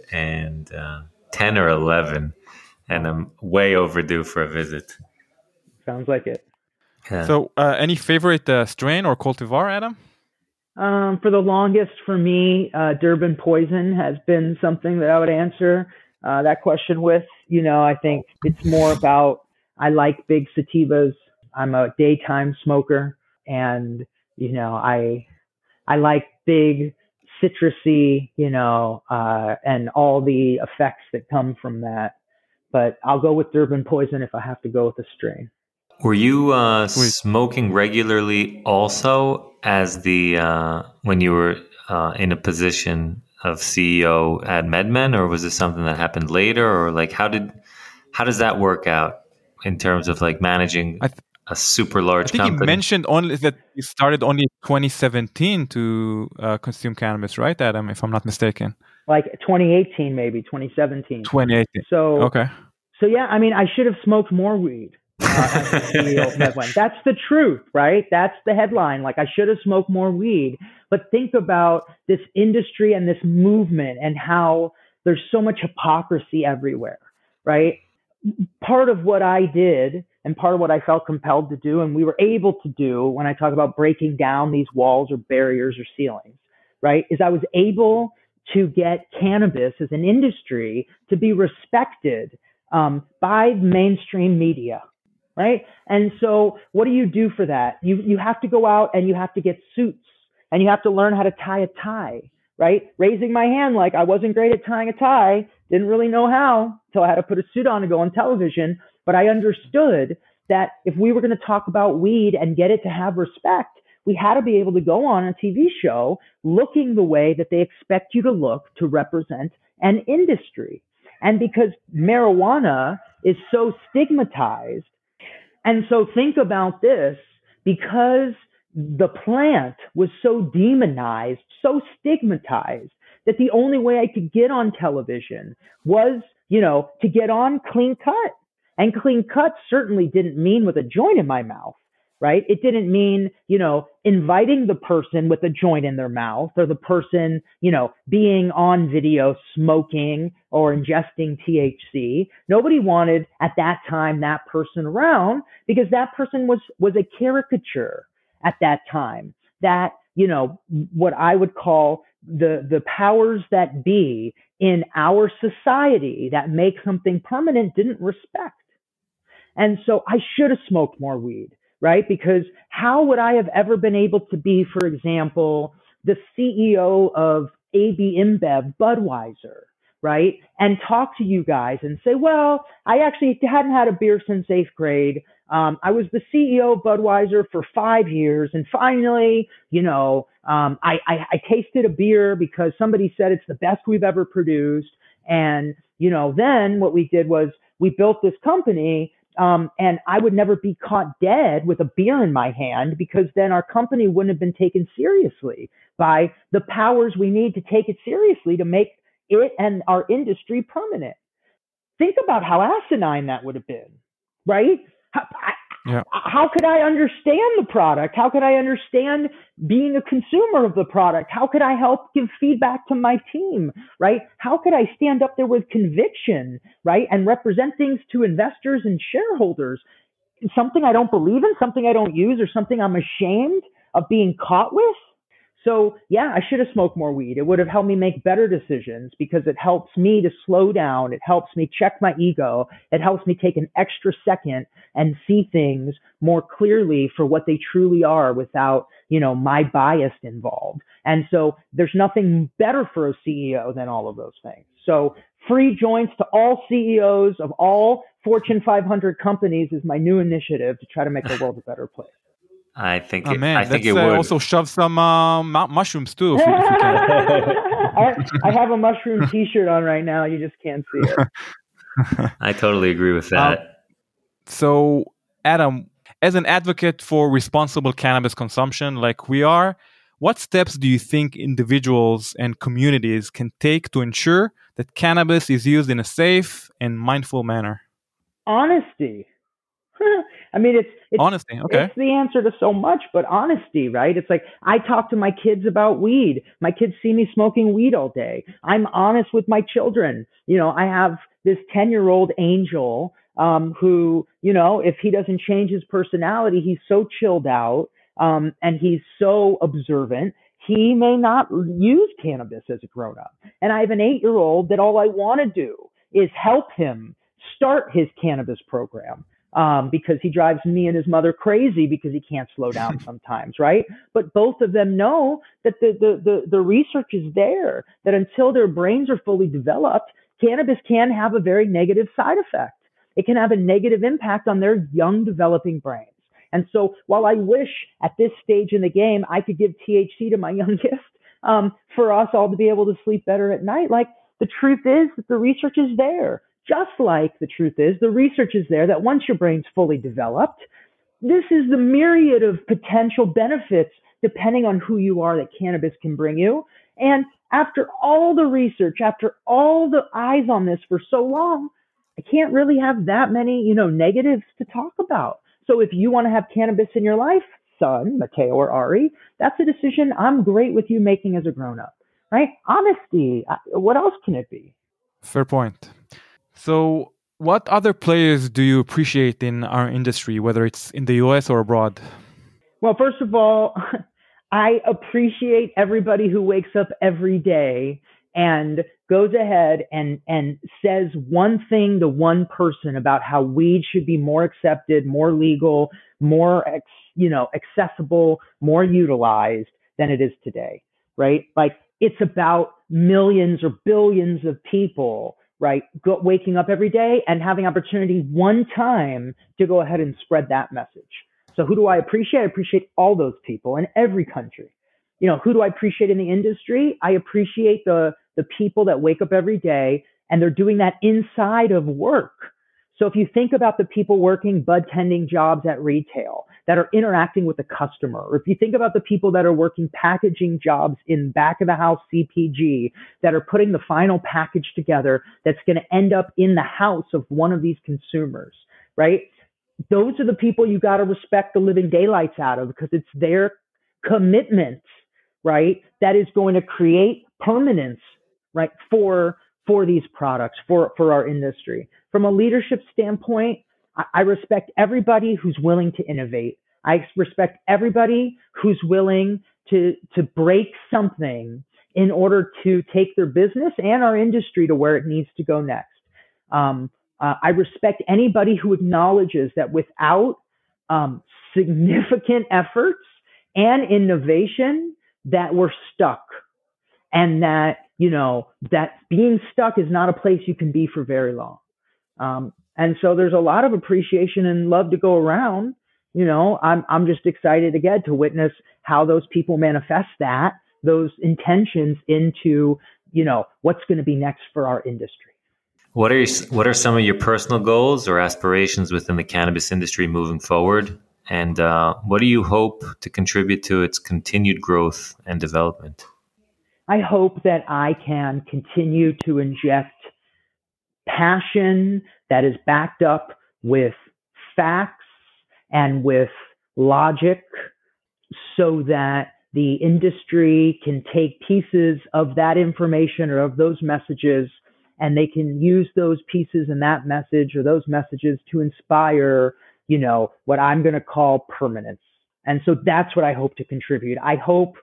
ten or eleven, and I'm way overdue for a visit. Sounds like it. Yeah. So, uh, any favorite uh, strain or cultivar, Adam? Um, for the longest, for me, uh, Durban Poison has been something that I would answer uh, that question with. You know, I think it's more about, I like big sativas. I'm a daytime smoker, and, you know, I, I like big citrusy, you know, uh, and all the effects that come from that. But I'll go with Durban Poison if I have to go with a strain. Were you uh, Sweet. smoking regularly also as the uh, when you were uh, in a position of C E O at MedMen, or was this something that happened later, or like how did how does that work out in terms of like managing I th- a super large I think company? you mentioned only that you started only in twenty seventeen to uh, consume cannabis, right, Adam? If I'm not mistaken. Like twenty eighteen, maybe twenty seventeen. twenty eighteen. So Okay. So yeah, I mean, I should have smoked more weed. Uh, as the C E O of MedMen. That's the truth, right? That's the headline. Like, I should have smoked more weed. But think about this industry and this movement and how there's so much hypocrisy everywhere, right? Part of what I did and part of what I felt compelled to do, and we were able to do when I talk about breaking down these walls or barriers or ceilings, right, is I was able to get cannabis as an industry to be respected um, by mainstream media. Right. And so what do you do for that? You you have to go out and you have to get suits and you have to learn how to tie a tie. Right. Raising my hand like I wasn't great at tying a tie. Didn't really know how until I had to put a suit on and go on television. But I understood that if we were going to talk about weed and get it to have respect, we had to be able to go on a T V show looking the way that they expect you to look to represent an industry. And because marijuana is so stigmatized, and so think about this, because the plant was so demonized, so stigmatized, that the only way I could get on television was, you know, to get on Clean Cut. And Clean Cut certainly didn't mean with a joint in my mouth, right? It didn't mean, you know, inviting the person with a joint in their mouth, or the person, you know, being on video smoking or ingesting T H C. Nobody wanted at that time that person around, because that person was, was a caricature at that time that, you know, what I would call the, the powers that be in our society that make something permanent didn't respect. And so I should have smoked more weed, right? Because how would I have ever been able to be, for example, the C E O of A B InBev, Budweiser, right? And talk to you guys and say, well, I actually hadn't had a beer since eighth grade. Um, I was the C E O of Budweiser for five years. And finally, you know, um, I, I, I tasted a beer because somebody said it's the best we've ever produced. And, you know, then what we did was we built this company. Um, and I would never be caught dead with a beer in my hand, because then our company wouldn't have been taken seriously by the powers we need to take it seriously to make it and our industry permanent. Think about how asinine that would have been, right? How, I, yeah. how could I understand the product? How could I understand being a consumer of the product? How could I help give feedback to my team, right? How could I stand up there with conviction, right? And represent things to investors and shareholders? Something I don't believe in, something I don't use, or something I'm ashamed of being caught with? So yeah, I should have smoked more weed. It would have helped me make better decisions, because it helps me to slow down. It helps me check my ego. It helps me take an extra second and see things more clearly for what they truly are, without, you know, my bias involved. And so there's nothing better for a C E O than all of those things. So free joints to all C E Os of all Fortune five hundred companies is my new initiative to try to make the world a better place. I think. Oh, it, man, I think let's it uh, would also shove some uh, mu- mushrooms too. If we, if we can. I, I have a mushroom T-shirt on right now. You just can't see it. I totally agree with that. Um, so, Adam, as an advocate for responsible cannabis consumption, like we are, what steps do you think individuals and communities can take to ensure that cannabis is used in a safe and mindful manner? Honesty. I mean, it's, it's honesty. Okay. It's the answer to so much, but honesty, right? It's like, I talk to my kids about weed. My kids see me smoking weed all day. I'm honest with my children. You know, I have this ten year old Angel, um, who, you know, if he doesn't change his personality, he's so chilled out, um, and he's so observant, he may not use cannabis as a grown up. And I have an eight year old that all I want to do is help him start his cannabis program. Um, because he drives me and his mother crazy because he can't slow down sometimes, right? But both of them know that the, the, the, the research is there, that until their brains are fully developed, cannabis can have a very negative side effect. It can have a negative impact on their young developing brains. And so while I wish at this stage in the game I could give T H C to my youngest, um, for us all to be able to sleep better at night, like the truth is that the research is there. Just like the truth is, the research is there that once your brain's fully developed, this is the myriad of potential benefits depending on who you are that cannabis can bring you. And after all the research, after all the eyes on this for so long, I can't really have that many, you know, negatives to talk about. So if you want to have cannabis in your life, son, Mateo or Ari, that's a decision I'm great with you making as a grown-up, right? Honesty. What else can it be? Fair point. So what other players do you appreciate in our industry, whether it's in the U S or abroad? Well, first of all, I appreciate everybody who wakes up every day and goes ahead and, and says one thing to one person about how weed should be more accepted, more legal, more, you know, accessible, more utilized than it is today, right? Like, it's about millions or billions of people, right, go, waking up every day and having opportunity one time to go ahead and spread that message. So who do I appreciate? I appreciate all those people in every country. You know, who do I appreciate in the industry? I appreciate the, the people that wake up every day and they're doing that inside of work. So if you think about the people working bud tending jobs at retail that are interacting with the customer, or if you think about the people that are working packaging jobs in back of the house C P G that are putting the final package together that's going to end up in the house of one of these consumers, right? Those are the people you got to respect the living daylights out of, because it's their commitment, right, that is going to create permanence, right, for for these products, for, for our industry. From a leadership standpoint, I, I respect everybody who's willing to innovate. I respect everybody who's willing to, to break something in order to take their business and our industry to where it needs to go next. Um, uh, I respect anybody who acknowledges that without um, significant efforts and innovation, that we're stuck. And that, you know, that being stuck is not a place you can be for very long. Um, and so there's a lot of appreciation and love to go around. You know, I'm, I'm just excited again to witness how those people manifest that, those intentions into, you know, what's going to be next for our industry. What are your, what are some of your personal goals or aspirations within the cannabis industry moving forward? And uh, what do you hope to contribute to its continued growth and development? I hope that I can continue to inject passion that is backed up with facts and with logic, so that the industry can take pieces of that information or of those messages, and they can use those pieces and that message or those messages to inspire, you know, what I'm going to call permanence. And so that's what I hope to contribute. I hope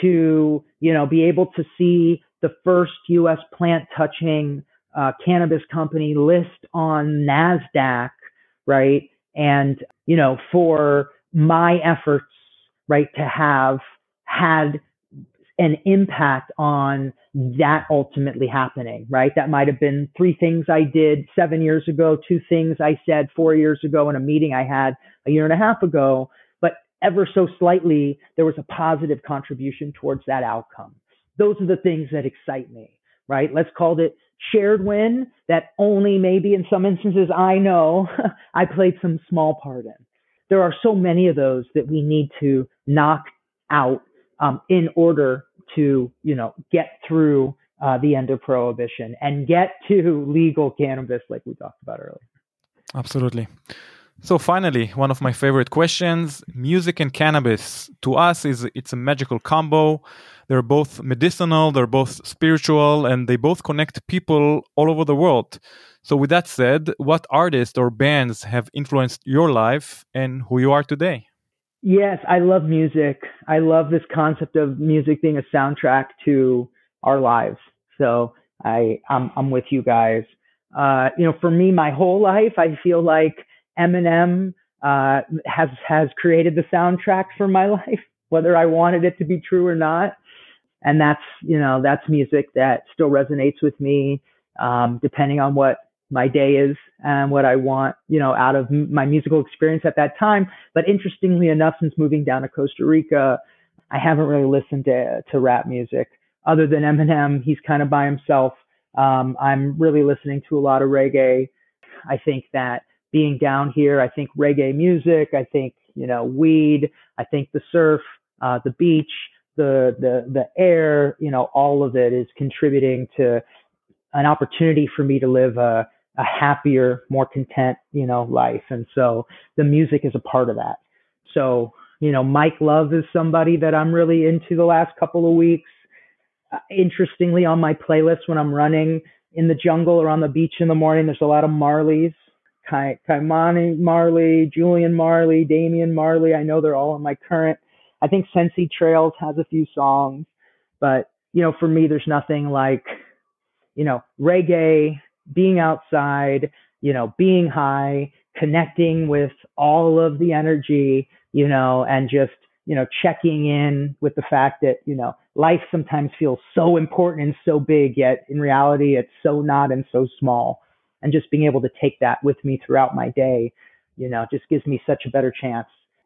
to, you know, be able to see the first U S plant touching uh, cannabis company list on NASDAQ, right? And, you know, for my efforts, right, to have had an impact on that ultimately happening, right? That might have been three things I did seven years ago, two things I said four years ago in a meeting I had a year and a half ago, but ever so slightly, there was a positive contribution towards that outcome. Those are the things that excite me, right? Let's call it shared win that only maybe in some instances I know I played some small part in. There are so many of those that we need to knock out um, in order to, you know, get through uh, the end of prohibition and get to legal cannabis like we talked about earlier. Absolutely. So finally, one of my favorite questions: music and cannabis. To us, is it's a magical combo. They're both medicinal, they're both spiritual, and they both connect people all over the world. So with that said, what artists or bands have influenced your life and who you are today? Yes, I love music. I love this concept of music being a soundtrack to our lives. So I, I'm, I'm with you guys. Uh, you know, for me, my whole life, I feel like Eminem uh, has has created the soundtrack for my life, whether I wanted it to be true or not. And that's, you know, that's music that still resonates with me, um, depending on what my day is and what I want, you know, out of m- my musical experience at that time. But interestingly enough, since moving down to Costa Rica, I haven't really listened to, to rap music other than Eminem. He's kind of by himself. Um, I'm really listening to a lot of reggae. I think that being down here, I think reggae music, I think, you know, weed, I think the surf, uh, the beach, the, the, the air, you know, all of it is contributing to an opportunity for me to live a, a happier, more content, you know, life. And so the music is a part of that. So, you know, Mike Love is somebody that I'm really into the last couple of weeks. Uh, interestingly, on my playlist when I'm running in the jungle or on the beach in the morning, there's a lot of Marleys. Kai, Kaimani Marley, Julian Marley, Damian Marley. I know they're all in my current. I think Sensi Trails has a few songs, but, you know, for me, there's nothing like, you know, reggae, being outside, you know, being high, connecting with all of the energy, you know, and just, you know, checking in with the fact that, you know, life sometimes feels so important and so big, yet in reality, it's so not and so small. And just being able to take that with me throughout my day, you know, just gives me such a better chance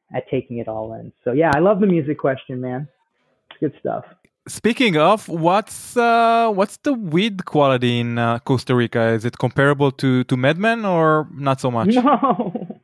at taking it all in. So yeah, I love the music question, man. It's good stuff. Speaking of, what's uh, what's the weed quality in uh, Costa Rica? Is it comparable to to MedMen or not so much? No.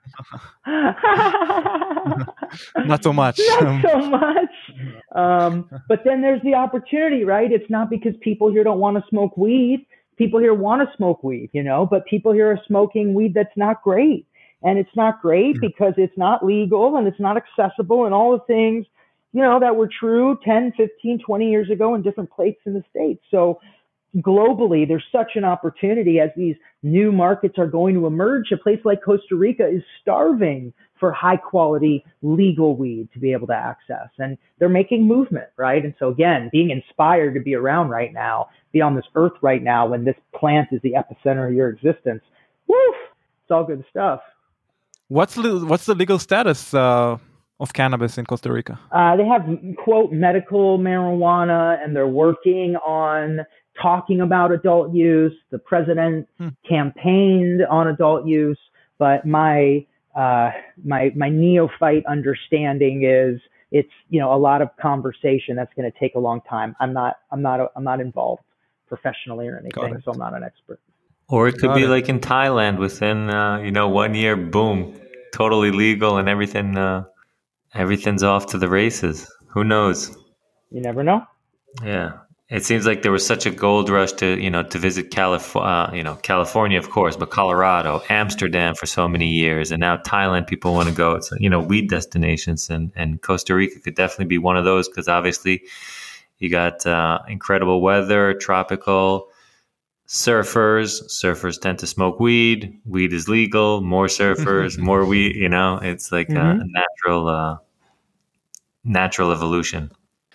Not so much. Not so much. Um, but then there's the opportunity, right? It's not because people here don't want to smoke weed. People here want to smoke weed, you know, but people here are smoking weed that's not great. And it's not great because it's not legal and it's not accessible and all the things, you know, that were true ten, fifteen, twenty years ago in different places in the States. So globally, there's such an opportunity as these new markets are going to emerge. A place like Costa Rica is starving for high quality legal weed to be able to access. And they're making movement, right? And so again, being inspired to be around right now, be on this earth right now when this plant is the epicenter of your existence. Woof! It's all good stuff. What's the, what's the legal status uh, of cannabis in Costa Rica? Uh, they have, quote, medical marijuana, and they're working on talking about adult use. The president hmm. campaigned on adult use, but my uh, my my neophyte understanding is it's, you know, a lot of conversation that's going to take a long time. I'm not I'm not I'm not involved professionally or anything, so I'm not an expert. Or it could Got be it. like in Thailand, within uh, you know one year, boom, totally legal and everything. Uh, everything's off to the races. Who knows? You never know. Yeah. It seems like there was such a gold rush to, you know, to visit California, uh, you know, California, of course, but Colorado, Amsterdam for so many years. And now Thailand, people want to go. It's, you know, weed destinations. And, and Costa Rica could definitely be one of those because obviously you got uh, incredible weather, tropical, surfers. Surfers tend to smoke weed. Weed is legal. More surfers, more weed, you know, it's like mm-hmm. a natural, uh, natural evolution.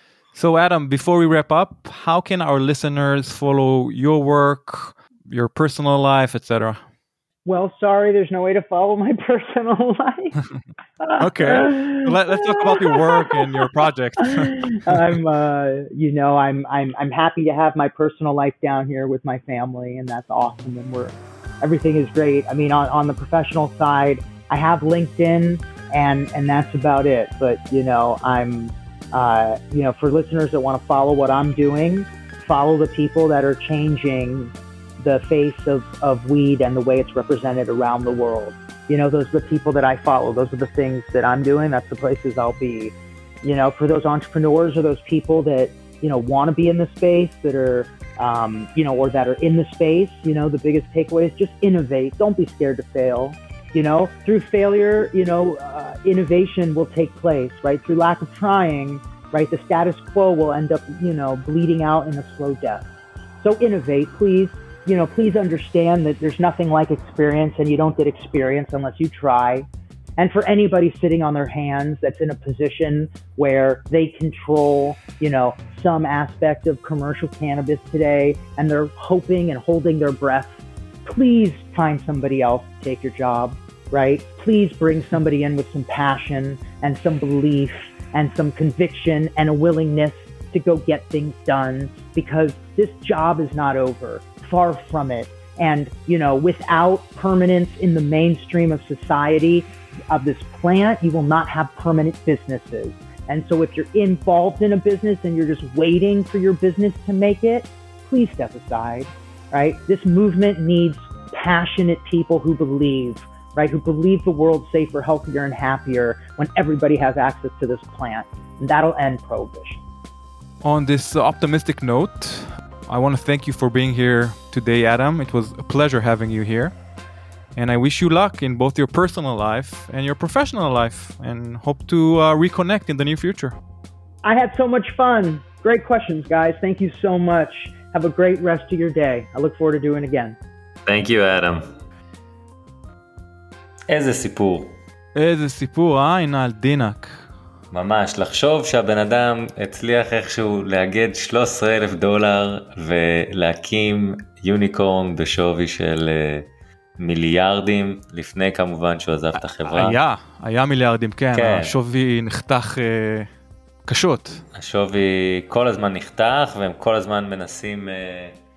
So Adam, before we wrap up, how can our listeners follow your work, your personal life, et cetera? Well, sorry, there's no way to follow my personal life. Okay, Let, let's talk about your work and your project. I'm, uh, you know, I'm, I'm, I'm happy to have my personal life down here with my family, and that's awesome. And we're, everything is great. I mean, on, on the professional side, I have LinkedIn, and and that's about it. But you know, I'm. Uh, you know, for listeners that want to follow what I'm doing, follow the people that are changing the face of, of weed and the way it's represented around the world. You know, those are the people that I follow. Those are the things that I'm doing. That's the places I'll be. You know, for those entrepreneurs or those people that, you know, want to be in the space, that are, um, you know, or that are in the space, you know, the biggest takeaway is just innovate. Don't be scared to fail. You know, through failure, you know, uh, innovation will take place, right? Through lack of trying, right? The status quo will end up, you know, bleeding out in a slow death. So innovate, please. You know, please understand that there's nothing like experience, and you don't get experience unless you try. And for anybody sitting on their hands that's in a position where they control, you know, some aspect of commercial cannabis today, and they're hoping and holding their breath, please find somebody else to take your job, right? Please bring somebody in with some passion and some belief and some conviction and a willingness to go get things done, because this job is not over. Far from it. And, you know, without permanence in the mainstream of society of this plant, you will not have permanent businesses. And so if you're involved in a business and you're just waiting for your business to make it, please step aside. Right? This movement needs passionate people who believe, right? Who believe the world's safer, healthier, and happier when everybody has access to this plant. And that'll end prohibition. On this optimistic note, I want to thank you for being here today, Adam. It was a pleasure having you here. And I wish you luck in both your personal life and your professional life, and hope to uh, reconnect in the near future. I had so much fun. Great questions, guys. Thank you so much. Have a great rest of your day. I look forward to doing it again. Thank you, Adam. איזה סיפור. איזה סיפור, אה? הנה על דינק. ממש, לחשוב שהבן אדם הצליח איכשהו לאגד שלושה עשר אלף דולר ולהקים יוניקורן בשווי של מיליארדים, לפני כמובן שהוא עזב את החברה. היה, היה מיליארדים, כן. כן. השווי נחתך אה, קשות. השווי כל הזמן נחתך, והם כל הזמן מנסים אה,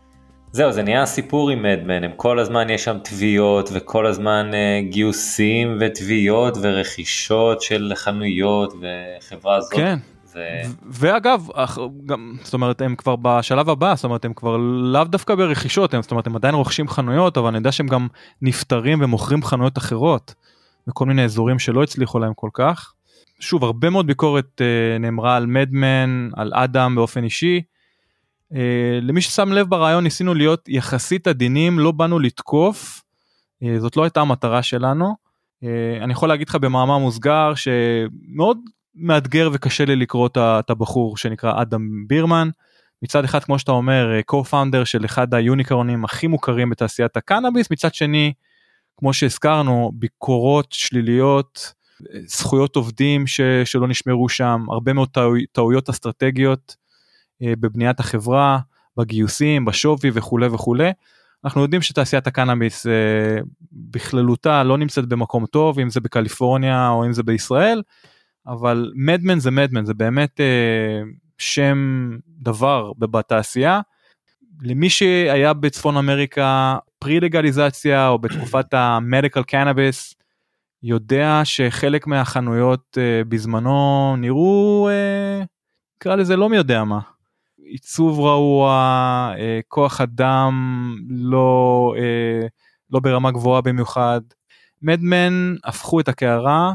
זהו, זה נהיה סיפור עם מדמן, הם כל הזמן יש שם תביעות, וכל הזמן uh, גיוסים ותביעות ורכישות של חנויות וחברה הזאת. כן, זה... ואגב, גם, זאת אומרת, הם כבר בשלב הבא, זאת אומרת, הם כבר לאו דווקא ברכישות, הם, זאת אומרת, הם עדיין רוכשים חנויות, אבל אני יודע שהם גם נפטרים ומוכרים חנויות אחרות, בכל מיני אזורים שלא הצליחו להם כל כך. שוב, הרבה מאוד ביקורת uh, נאמרה על מדמן, על אדם באופן אישי, Uh, למי ששם לב ברעיון ניסינו להיות יחסית עדינים, לא באנו לתקוף, uh, זאת לא הייתה המטרה שלנו. uh, אני יכול להגיד לך במאמר מוסגר שמאוד מאתגר וקשה לי לקרוא את הבחור שנקרא אדם בירמן, מצד אחד כמו שאתה אומר co-founder של אחד היוניקורנים הכי מוכרים בתעשיית הקנאביס, מצד שני כמו שהזכרנו ביקורות שליליות, זכויות עובדים ש, שלא נשמרו שם, הרבה מאוד טעו, טעויות אסטרטגיות, בבניית החברה, בגיוסים, בשווי וכו' וכו'. אנחנו יודעים שתעשיית הקנאביס בכללותה לא נמצאת במקום טוב, אם זה בקליפורניה או אם זה בישראל, אבל מדמן זה מדמן, זה באמת שם דבר בתעשייה. למי שהיה בצפון אמריקה פרי-לגליזציה או בתקופת המדיקל קנאביס, יודע שחלק מהחנויות בזמנו נראו, נקרא לזה לא מי יודע מה. עיצוב רעוע, כוח אדם לא, לא ברמה גבוהה במיוחד. מדמן הפכו את הקערה,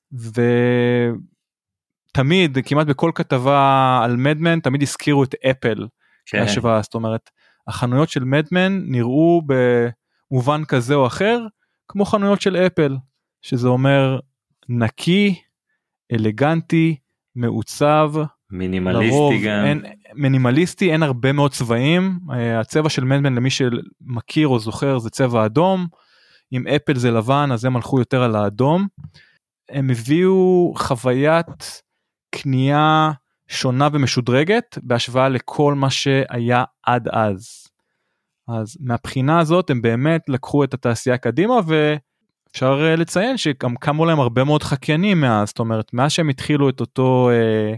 ותמיד, כמעט בכל כתבה על מדמן, תמיד הזכירו את אפל. כן. השוואה, זאת אומרת, החנויות של מדמן נראו במובן כזה או אחר, כמו חנויות של אפל, שזה אומר נקי, אלגנטי, מעוצב, מינימליסטי גם. אין, מינימליסטי, אין הרבה מאוד צבעים, הצבע של מדמן למי שמכיר או זוכר זה צבע אדום, אם אפל זה לבן אז הם הלכו יותר על האדום, הם הביאו חוויית קנייה שונה ומשודרגת, בהשוואה לכל מה שהיה עד אז. אז מהבחינה הזאת הם באמת לקחו את התעשייה קדימה, ואפשר לציין שגם קמו להם הרבה מאוד חקיינים מאז, זאת אומרת, מאז שהם התחילו את אותו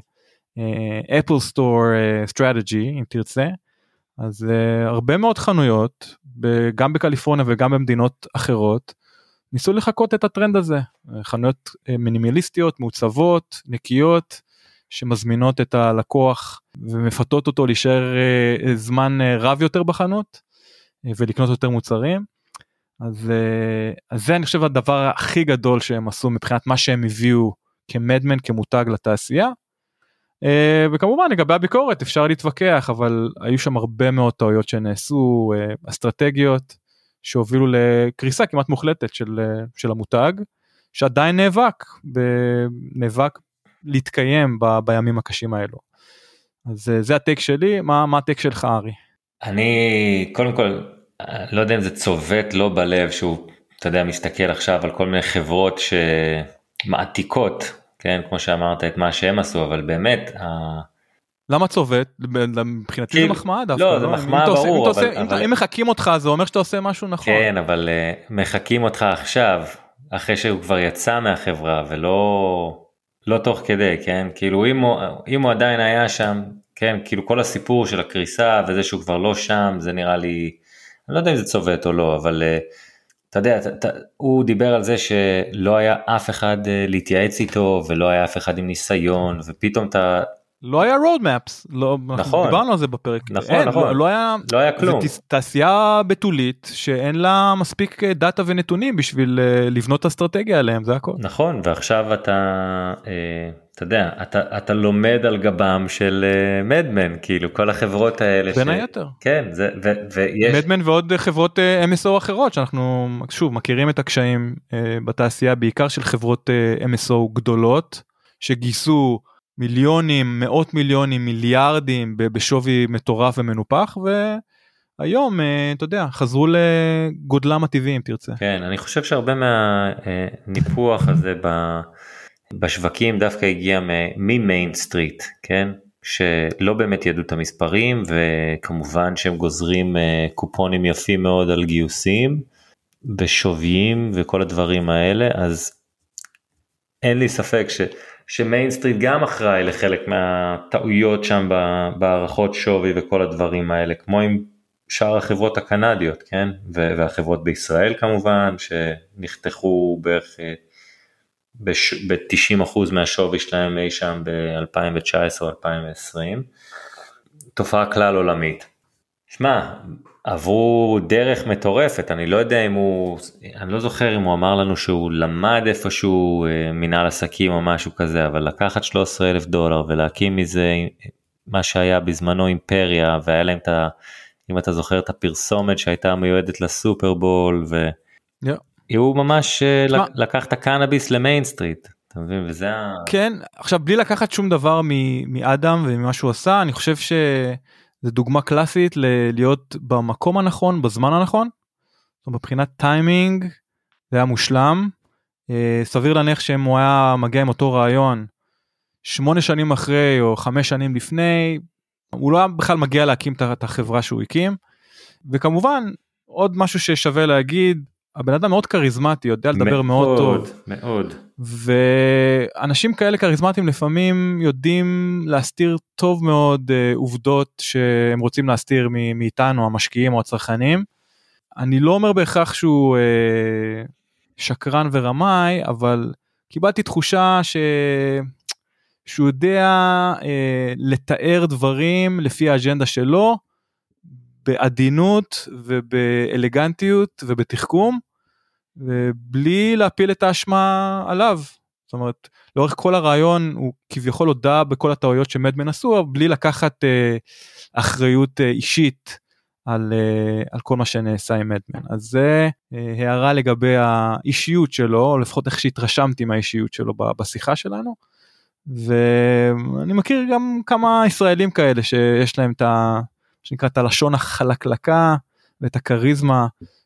אפל סטור סטרטג'י, אם תרצה, אז uh, הרבה מאוד חנויות, ב- גם בקליפורניה וגם במדינות אחרות, ניסו לחכות את הטרנד הזה, חנויות uh, מינימליסטיות, מעוצבות, נקיות, שמזמינות את הלקוח ומפתות אותו להישאר uh, זמן uh, רב יותר בחנות, uh, ולקנות יותר מוצרים, אז, uh, אז זה אני חושב הדבר הכי גדול שהם עשו, מבחינת מה שהם הביאו כמדמן, כמותג לתעשייה, Uh, וכמובן לגבי הביקורת אפשר להתווכח, אבל היו שם הרבה מאוד טעויות שנעשו, uh, אסטרטגיות שהובילו לקריסה כמעט מוחלטת של, uh, של המותג, שעדיין נאבק, ב- נאבק להתקיים ב- בימים הקשים האלו. אז uh, זה הטייק שלי, מה, מה הטייק שלך ארי? אני קודם כל לא יודע אם זה צובט לא בלב שהוא, אתה יודע, מסתכל עכשיו על כל מיני חברות שמעתיקות, כן, כמו שאמרת, את מה שהם עשו, אבל באמת... למה צובט? מבחינתי זה מחמאה דווקא. לא, זה מחמאה ברור. אם מחכים אותך, זה אומר שאתה עושה משהו נכון. כן, אבל מחכים אותך עכשיו, אחרי שהוא כבר יצא מהחברה, ולא לא תוך כדי, כן? כאילו, אם הוא עדיין היה שם, כן, כאילו כל הסיפור של הקריסה, וזה שהוא כבר לא שם, זה נראה לי, אני לא יודע אם זה צובט או לא, אבל... אתה יודע, אתה, הוא דיבר על זה שלא היה אף אחד להתייעץ איתו, ולא היה אף אחד עם ניסיון, ופתאום אתה... לא היה roadmaps, לא, נכון. דיברנו על זה בפרק. נכון, אין, נכון. לא, לא היה, לא היה כלום. זה תעשייה בתולית, שאין לה מספיק דאטה ונתונים, בשביל לבנות אסטרטגיה עליהם, זה הכל. נכון, ועכשיו אתה, אתה יודע, אתה, אתה לומד על גבם של מדמן, כאילו כל החברות האלה. בין ש... היתר. כן, זה, ו, ויש... מדמן ועוד חברות אם אס או אחרות, שאנחנו שוב מכירים את הקשיים בתעשייה, בעיקר של חברות אם אס או גדולות, שגייסו מיליונים, מאות מיליונים, מיליארדים בשווי מטורף ומנופח, והיום, אתה יודע, חזרו לגודלם הטבעי, אם תרצה. כן, אני חושב שהרבה מהניפוח הזה בשווקים דווקא הגיע ממיין סטריט, כן? שלא באמת ידעו את המספרים, וכמובן שהם גוזרים קופונים יפים מאוד על גיוסים, בשוויים וכל הדברים האלה, אז אין לי ספק ש... שמיין סטריט גם אחראי לחלק מהטעויות שם בהערכות שווי וכל הדברים האלה, כמו עם שאר החברות הקנדיות, כן? והחברות בישראל כמובן, שנחתכו בערך ב-תשעים אחוז מהשווי שלהם אי שם ב-אלפיים תשע עשרה אלפיים ועשרים, תופעה כלל עולמית. שמע, עברו דרך מטורפת, אני לא יודע אם הוא, אני לא זוכר אם הוא אמר לנו שהוא למד איפשהו מנהל עסקים או משהו כזה, אבל לקחת שלושה עשר אלף דולר ולהקים מזה מה שהיה בזמנו אימפריה, והיה להם את ה... אם אתה זוכר את הפרסומת שהייתה מיועדת לסופרבול, והוא ממש לקח את הקנאביס למיין סטריט, אתה מבין? וזה ה... כן, עכשיו בלי לקחת שום דבר מאדם וממה שהוא עשה, אני חושב שזה דוגמה קלאסית להיות במקום הנכון, בזמן הנכון, מבחינת טיימינג, זה היה מושלם, סביר להניח שאם הוא היה מגיע עם אותו רעיון, שמונה שנים אחרי או חמש שנים לפני, הוא לא היה בכלל מגיע להקים את החברה שהוא הקים, וכמובן, עוד משהו ששווה להגיד, הבן אדם מאוד קריזמטי, יודע לדבר מאוד טוב. מאוד. ואנשים כאלה קריזמטיים לפעמים יודעים להסתיר טוב מאוד עובדות שהם רוצים להסתיר מאיתנו, המשקיעים או הצרכנים. אני לא אומר בהכרח שהוא שקרן ורמאי, אבל קיבלתי תחושה ש... שהוא יודע אה, לתאר דברים לפי האג'נדה שלו, בעדינות ובאלגנטיות ובתחכום, ובלי להפיל את האשמה עליו. זאת אומרת, לאורך כל הרעיון הוא כביכול הודע בכל הטעויות שמדמן עשו, אבל בלי לקחת אה, אחריות אה, אישית על, אה, על כל מה שנעשה עם מדמן. אז זה אה, הערה לגבי האישיות שלו, או לפחות איך שהתרשמתי מהאישיות שלו בשיחה שלנו, ואני מכיר גם כמה ישראלים כאלה שיש להם את ה... שנקרא את הלשון החלקלקה ואת הקריזמה,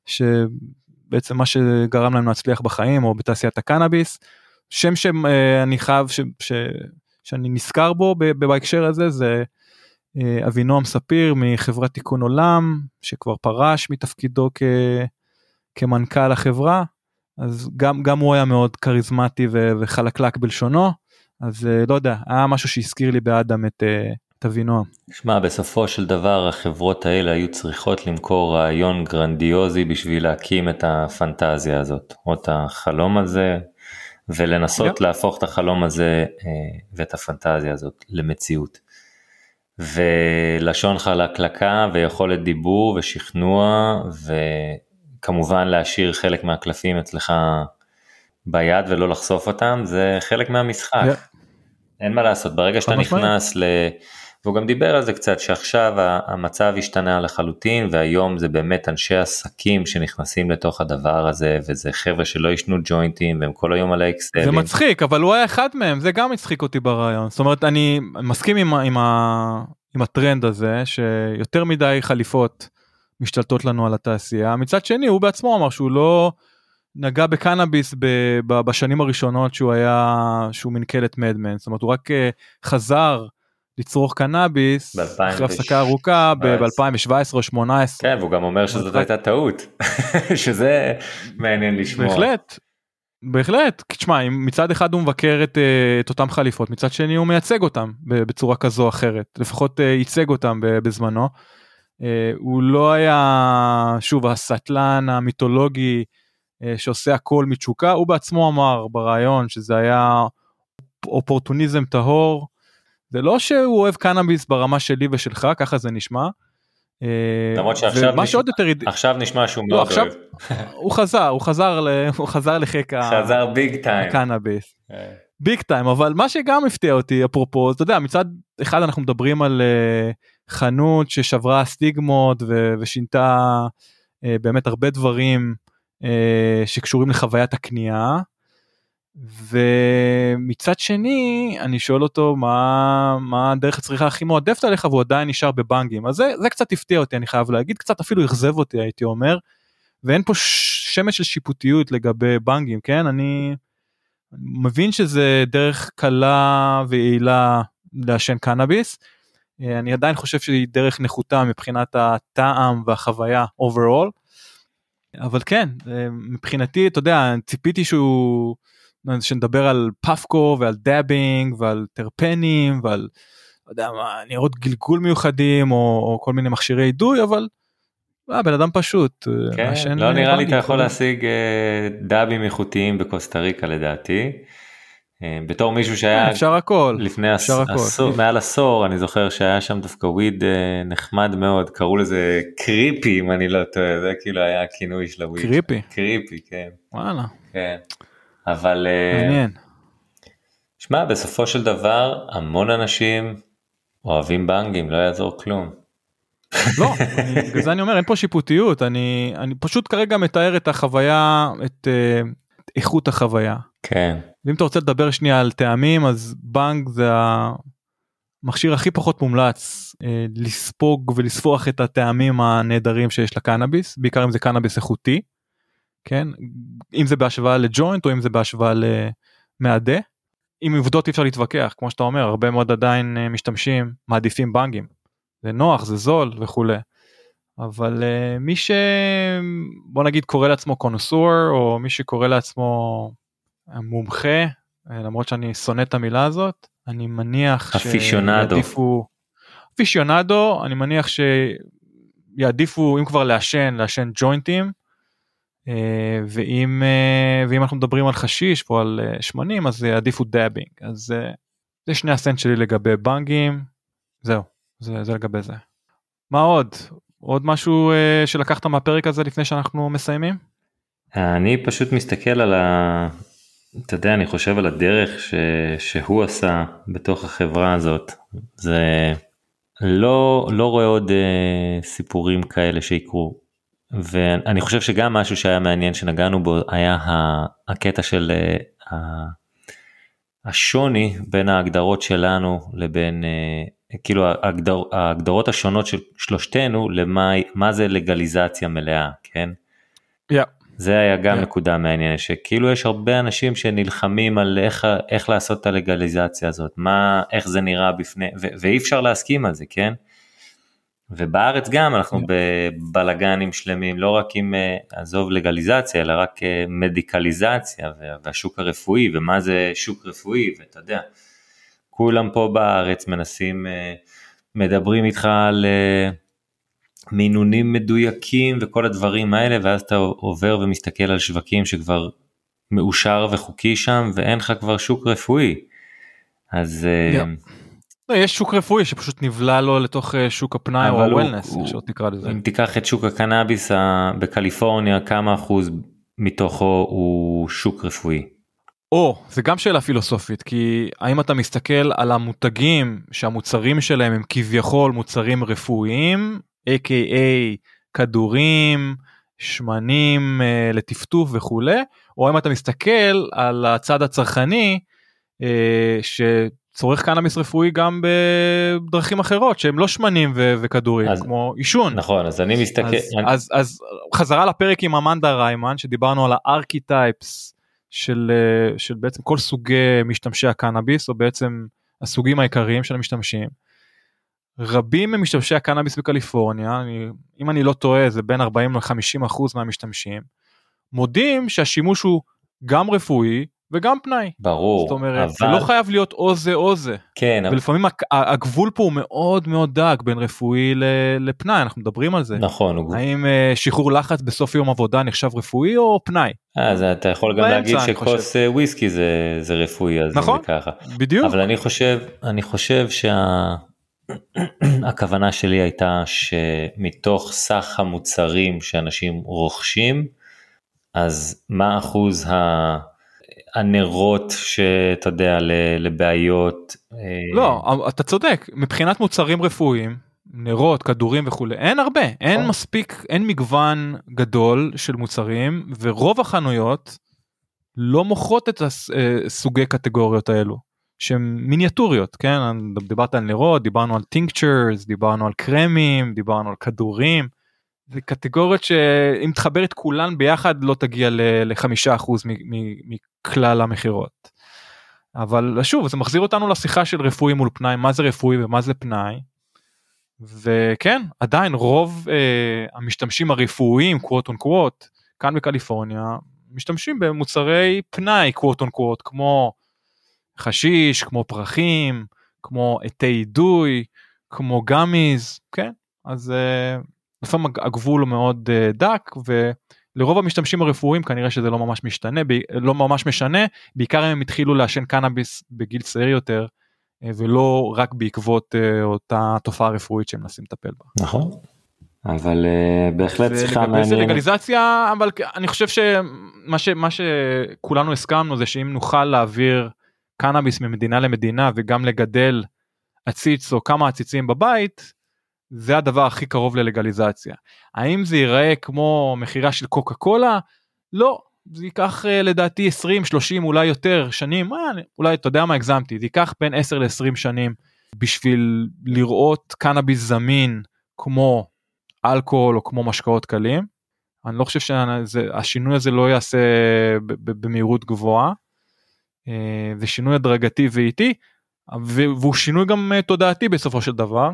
שבעצם מה שגרם להם להצליח בחיים או בתעשיית הקנאביס. שם שאני חייב, ש... ש... שאני נזכר בו בהקשר הזה, זה אבינועם ספיר מחברת תיקון עולם, שכבר פרש מתפקידו כ... כמנכ"ל החברה, אז גם, גם הוא היה מאוד קריזמטי ו... וחלקלק בלשונו, אז לא יודע, היה משהו שהזכיר לי באדם את, את אבינועם. שמע, בסופו של דבר החברות האלה היו צריכות למכור רעיון גרנדיוזי בשביל להקים את הפנטזיה הזאת, או את החלום הזה, ולנסות yeah. להפוך את החלום הזה ואת הפנטזיה הזאת למציאות. ולשון חלקלקה ויכולת דיבור ושכנוע, וכמובן להשאיר חלק מהקלפים אצלך ביד ולא לחשוף אותם, זה חלק מהמשחק. Yeah. אין מה לעשות, ברגע שאתה נכנס ל... והוא גם דיבר על זה קצת, שעכשיו המצב השתנה לחלוטין, והיום זה באמת אנשי עסקים שנכנסים לתוך הדבר הזה, וזה חבר'ה שלא ישנו ג'וינטים, והם כל היום על האקסלים. זה מצחיק, אבל הוא היה אחד מהם, זה גם מצחיק אותי ברעיון. זאת אומרת, אני מסכים עם, עם, ה... עם הטרנד הזה, שיותר מדי חליפות משתלטות לנו על התעשייה. מצד שני, הוא בעצמו אמר שהוא לא... נגע בקנאביס בשנים הראשונות שהוא היה, שהוא מנכ"ל את מדמן, זאת אומרת הוא רק חזר לצרוך קנאביס אחרי הפסקה ארוכה ב-אלפיים שבע עשרה או שמונה עשרה. כן, והוא גם אומר שזאת הייתה טעות, שזה מעניין לשמוע. בהחלט, בהחלט, תשמע, מצד אחד הוא מבקר את, את אותם חליפות, מצד שני הוא מייצג אותם בצורה כזו או אחרת, לפחות ייצג אותם בזמנו, הוא לא היה, שוב, הסטלן המיתולוגי, שעושה הכל מתשוקה, הוא בעצמו אמר ברעיון שזה היה אופורטוניזם טהור, זה לא שהוא אוהב קנאביס ברמה שלי ושלך, ככה זה נשמע. למרות שעכשיו נשמע, יותר... עכשיו נשמע שהוא מאוד לא, אוהב. הוא חזר, הוא חזר, הוא חזר לחק חזר ביג טיים. הקנאביס. ביג טיים, אבל מה שגם הפתיע אותי, אפרופו, אתה יודע, מצד אחד אנחנו מדברים על חנות ששברה סטיגמות ושינתה באמת הרבה דברים, שקשורים לחוויית הקנייה, ומצד שני אני שואל אותו מה, מה הדרך הצריכה הכי מועדפת עליך, והוא עדיין נשאר בבנגים, אז זה, זה קצת הפתיע אותי, אני חייב להגיד, קצת אפילו יחזב אותי הייתי אומר, ואין פה שמץ של שיפוטיות לגבי בנגים, כן, אני מבין שזה דרך קלה ויעילה לעשן קנאביס, אני עדיין חושב שהיא דרך נחותה מבחינת הטעם והחוויה overall, אבל כן, מבחינתי, אתה יודע, ציפיתי שהוא, שנדבר על פאפקו ועל דאבינג ועל טרפנים ועל, לא יודע מה, נראות גלגול מיוחדים או, או כל מיני מכשירי עידוי, אבל אה, בן אדם פשוט. כן, מעשן, לא אה, נראה לי בנגים אתה יכול כל- להשיג אה, דאבים איכותיים בקוסטה ריקה לדעתי. אה, בתור מישהו אה, שהיה אפשר הכל, לפני אפשר עש- הכל. עשור, מעל עשור, אני זוכר שהיה שם דווקא וויד אה, נחמד מאוד, קראו לזה קריפי אם אני לא טועה, זה כאילו היה הכינוי של הוויד. קריפי. קריפי, כן. וואלה, כן. אבל אה, מעניין. שמע, בסופו של דבר המון אנשים אוהבים בנגים, לא יעזור כלום. לא, אני- בגלל זה אני אומר, אין פה שיפוטיות, אני, אני פשוט כרגע מתאר את החוויה, את אה, איכות החוויה. כן. ואם אתה רוצה לדבר שנייה על טעמים, אז בנג זה המכשיר הכי פחות מומלץ אה, לספוג ולספוח את הטעמים הנהדרים שיש לקנאביס, בעיקר אם זה קנאביס איכותי, כן? אם זה בהשוואה לג'וינט או אם זה בהשוואה למעדה. עם עובדות אי אפשר להתווכח, כמו שאתה אומר, הרבה מאוד עדיין אה, משתמשים, מעדיפים בנגים. זה נוח, זה זול וכולי. אבל uh, מי ש... בוא נגיד קורא לעצמו קונוסור, או מי שקורא לעצמו מומחה, למרות שאני שונא את המילה הזאת, אני מניח אפישיונדו. שיעדיפו... אפישיונדו, אני מניח שיעדיפו, אם כבר לעשן, לעשן ג'וינטים, uh, ואם, uh, ואם אנחנו מדברים על חשיש, או על uh, שמנים, אז יעדיפו דאבינג. אז uh, זה שני הסנט שלי לגבי בנגים, זהו, זה, זה לגבי זה. מה עוד? עוד משהו uh, שלקחת מהפרק הזה לפני שאנחנו מסיימים? אני פשוט מסתכל על ה... אתה יודע, אני חושב על הדרך ש... שהוא עשה בתוך החברה הזאת. זה לא, לא רואה עוד uh, סיפורים כאלה שיקרו. ואני חושב שגם משהו שהיה מעניין שנגענו בו היה הקטע של uh, השוני בין ההגדרות שלנו לבין... Uh, כאילו ההגדר, ההגדרות השונות של שלושתנו למה מה זה לגליזציה מלאה, כן? Yeah. זה היה גם yeah. נקודה מעניינת, שכאילו יש הרבה אנשים שנלחמים על איך, איך לעשות את הלגליזציה הזאת, מה, איך זה נראה בפני, ו, ואי אפשר להסכים על זה, כן? ובארץ גם אנחנו yeah. בבלגנים שלמים, לא רק עם עזוב לגליזציה, אלא רק מדיקליזציה, והשוק הרפואי, ומה זה שוק רפואי, ואתה יודע, כולם פה בארץ מנסים, מדברים איתך על מינונים מדויקים וכל הדברים האלה, ואז אתה עובר ומסתכל על שווקים שכבר מאושר וחוקי שם, ואין לך כבר שוק רפואי. אז... לא, יש שוק רפואי שפשוט נבלה לו לתוך שוק הפנאי או הוולנס, איך שעוד תקרא לזה. אם תיקח את שוק הקנאביס בקליפורניה, כמה אחוז מתוכו הוא שוק רפואי? או, זה גם שאלה פילוסופית, כי האם אתה מסתכל על המותגים שהמוצרים שלהם הם כביכול מוצרים רפואיים, איי קיי איי כדורים, שמנים uh, לטפטוף וכו', או האם אתה מסתכל על הצד הצרכני uh, שצורך קנאביס רפואי גם בדרכים אחרות, שהם לא שמנים ו- וכדורים, אז, כמו אישון. נכון, אז אני מסתכל... אז, אני... אז, אז חזרה לפרק עם אמנדה ריימן, שדיברנו על הארכיטייפס, של, של בעצם כל סוגי משתמשי הקנאביס, או בעצם הסוגים העיקריים של המשתמשים. רבים ממשתמשי הקנאביס בקליפורניה, אני, אם אני לא טועה, זה בין ארבעים עד חמישים אחוז מהמשתמשים, מודים שהשימוש הוא גם רפואי וגם פנאי. ברור. זאת אומרת, אבל... זה לא חייב להיות או זה או זה. כן. ולפעמים אבל... הגבול פה הוא מאוד מאוד דק בין רפואי לפנאי, אנחנו מדברים על זה. נכון. הוא... האם שחרור לחץ בסוף יום עבודה נחשב רפואי או פנאי? אז אתה יכול גם להגיד שכוס וויסקי זה, זה רפואי, אז נכון, זה ככה. בדיוק. אבל אני חושב, אני חושב שהכוונה שלי הייתה שמתוך סך המוצרים שאנשים רוכשים, אז מה אחוז ה... הנרות שאתה יודע לבעיות? לא, אתה צודק, מבחינת מוצרים רפואיים, נרות, כדורים וכו', אין הרבה, אין מספיק, אין מגוון גדול של מוצרים, ורוב החנויות לא מוכרות את הסוגי קטגוריות האלו, שהן מיניאטוריות, כן? דיברת על נרות, דיברנו על טינקצ'רס, דיברנו על קרמים, דיברנו על כדורים, זה קטגוריות שאם תחבר את כולן ביחד לא תגיע לחמישה אחוז מכלל המחירות. אבל שוב, זה מחזיר אותנו לשיחה של רפואי מול פנאי, מה זה רפואי ומה זה פנאי, וכן, עדיין רוב אה, המשתמשים הרפואיים, קוואט און קוואט, כאן בקליפורניה, משתמשים במוצרי פנאי, קוואט און קוואט, כמו חשיש, כמו פרחים, כמו עטי אידוי, כמו גמיז, כן? אז... אה, לפעמים הגבול הוא מאוד דק, ולרוב המשתמשים הרפואיים כנראה שזה לא ממש משתנה, לא ממש משנה, בעיקר הם התחילו לעשן קנאביס בגיל צעיר יותר, ולא רק בעקבות אותה תופעה רפואית שהם מנסים לטפל בה. נכון, אבל בהחלט שיחה מעניינת. זה לגליזציה, אבל אני חושב שמה ש, מה שכולנו הסכמנו זה שאם נוכל להעביר קנאביס ממדינה למדינה, וגם לגדל עציץ או כמה עציצים בבית, זה הדבר הכי קרוב ללגליזציה. האם זה ייראה כמו מחירה של קוקה קולה? לא. זה ייקח לדעתי עשרים, שלושים, אולי יותר שנים, אולי אתה יודע מה הגזמתי, זה ייקח בין עשר לעשרים שנים, בשביל לראות קנאביס זמין, כמו אלכוהול או כמו משקאות קלים. אני לא חושב שהשינוי הזה לא יעשה במהירות גבוהה, זה שינוי הדרגתי ואיטי, והוא שינוי גם תודעתי בסופו של דבר,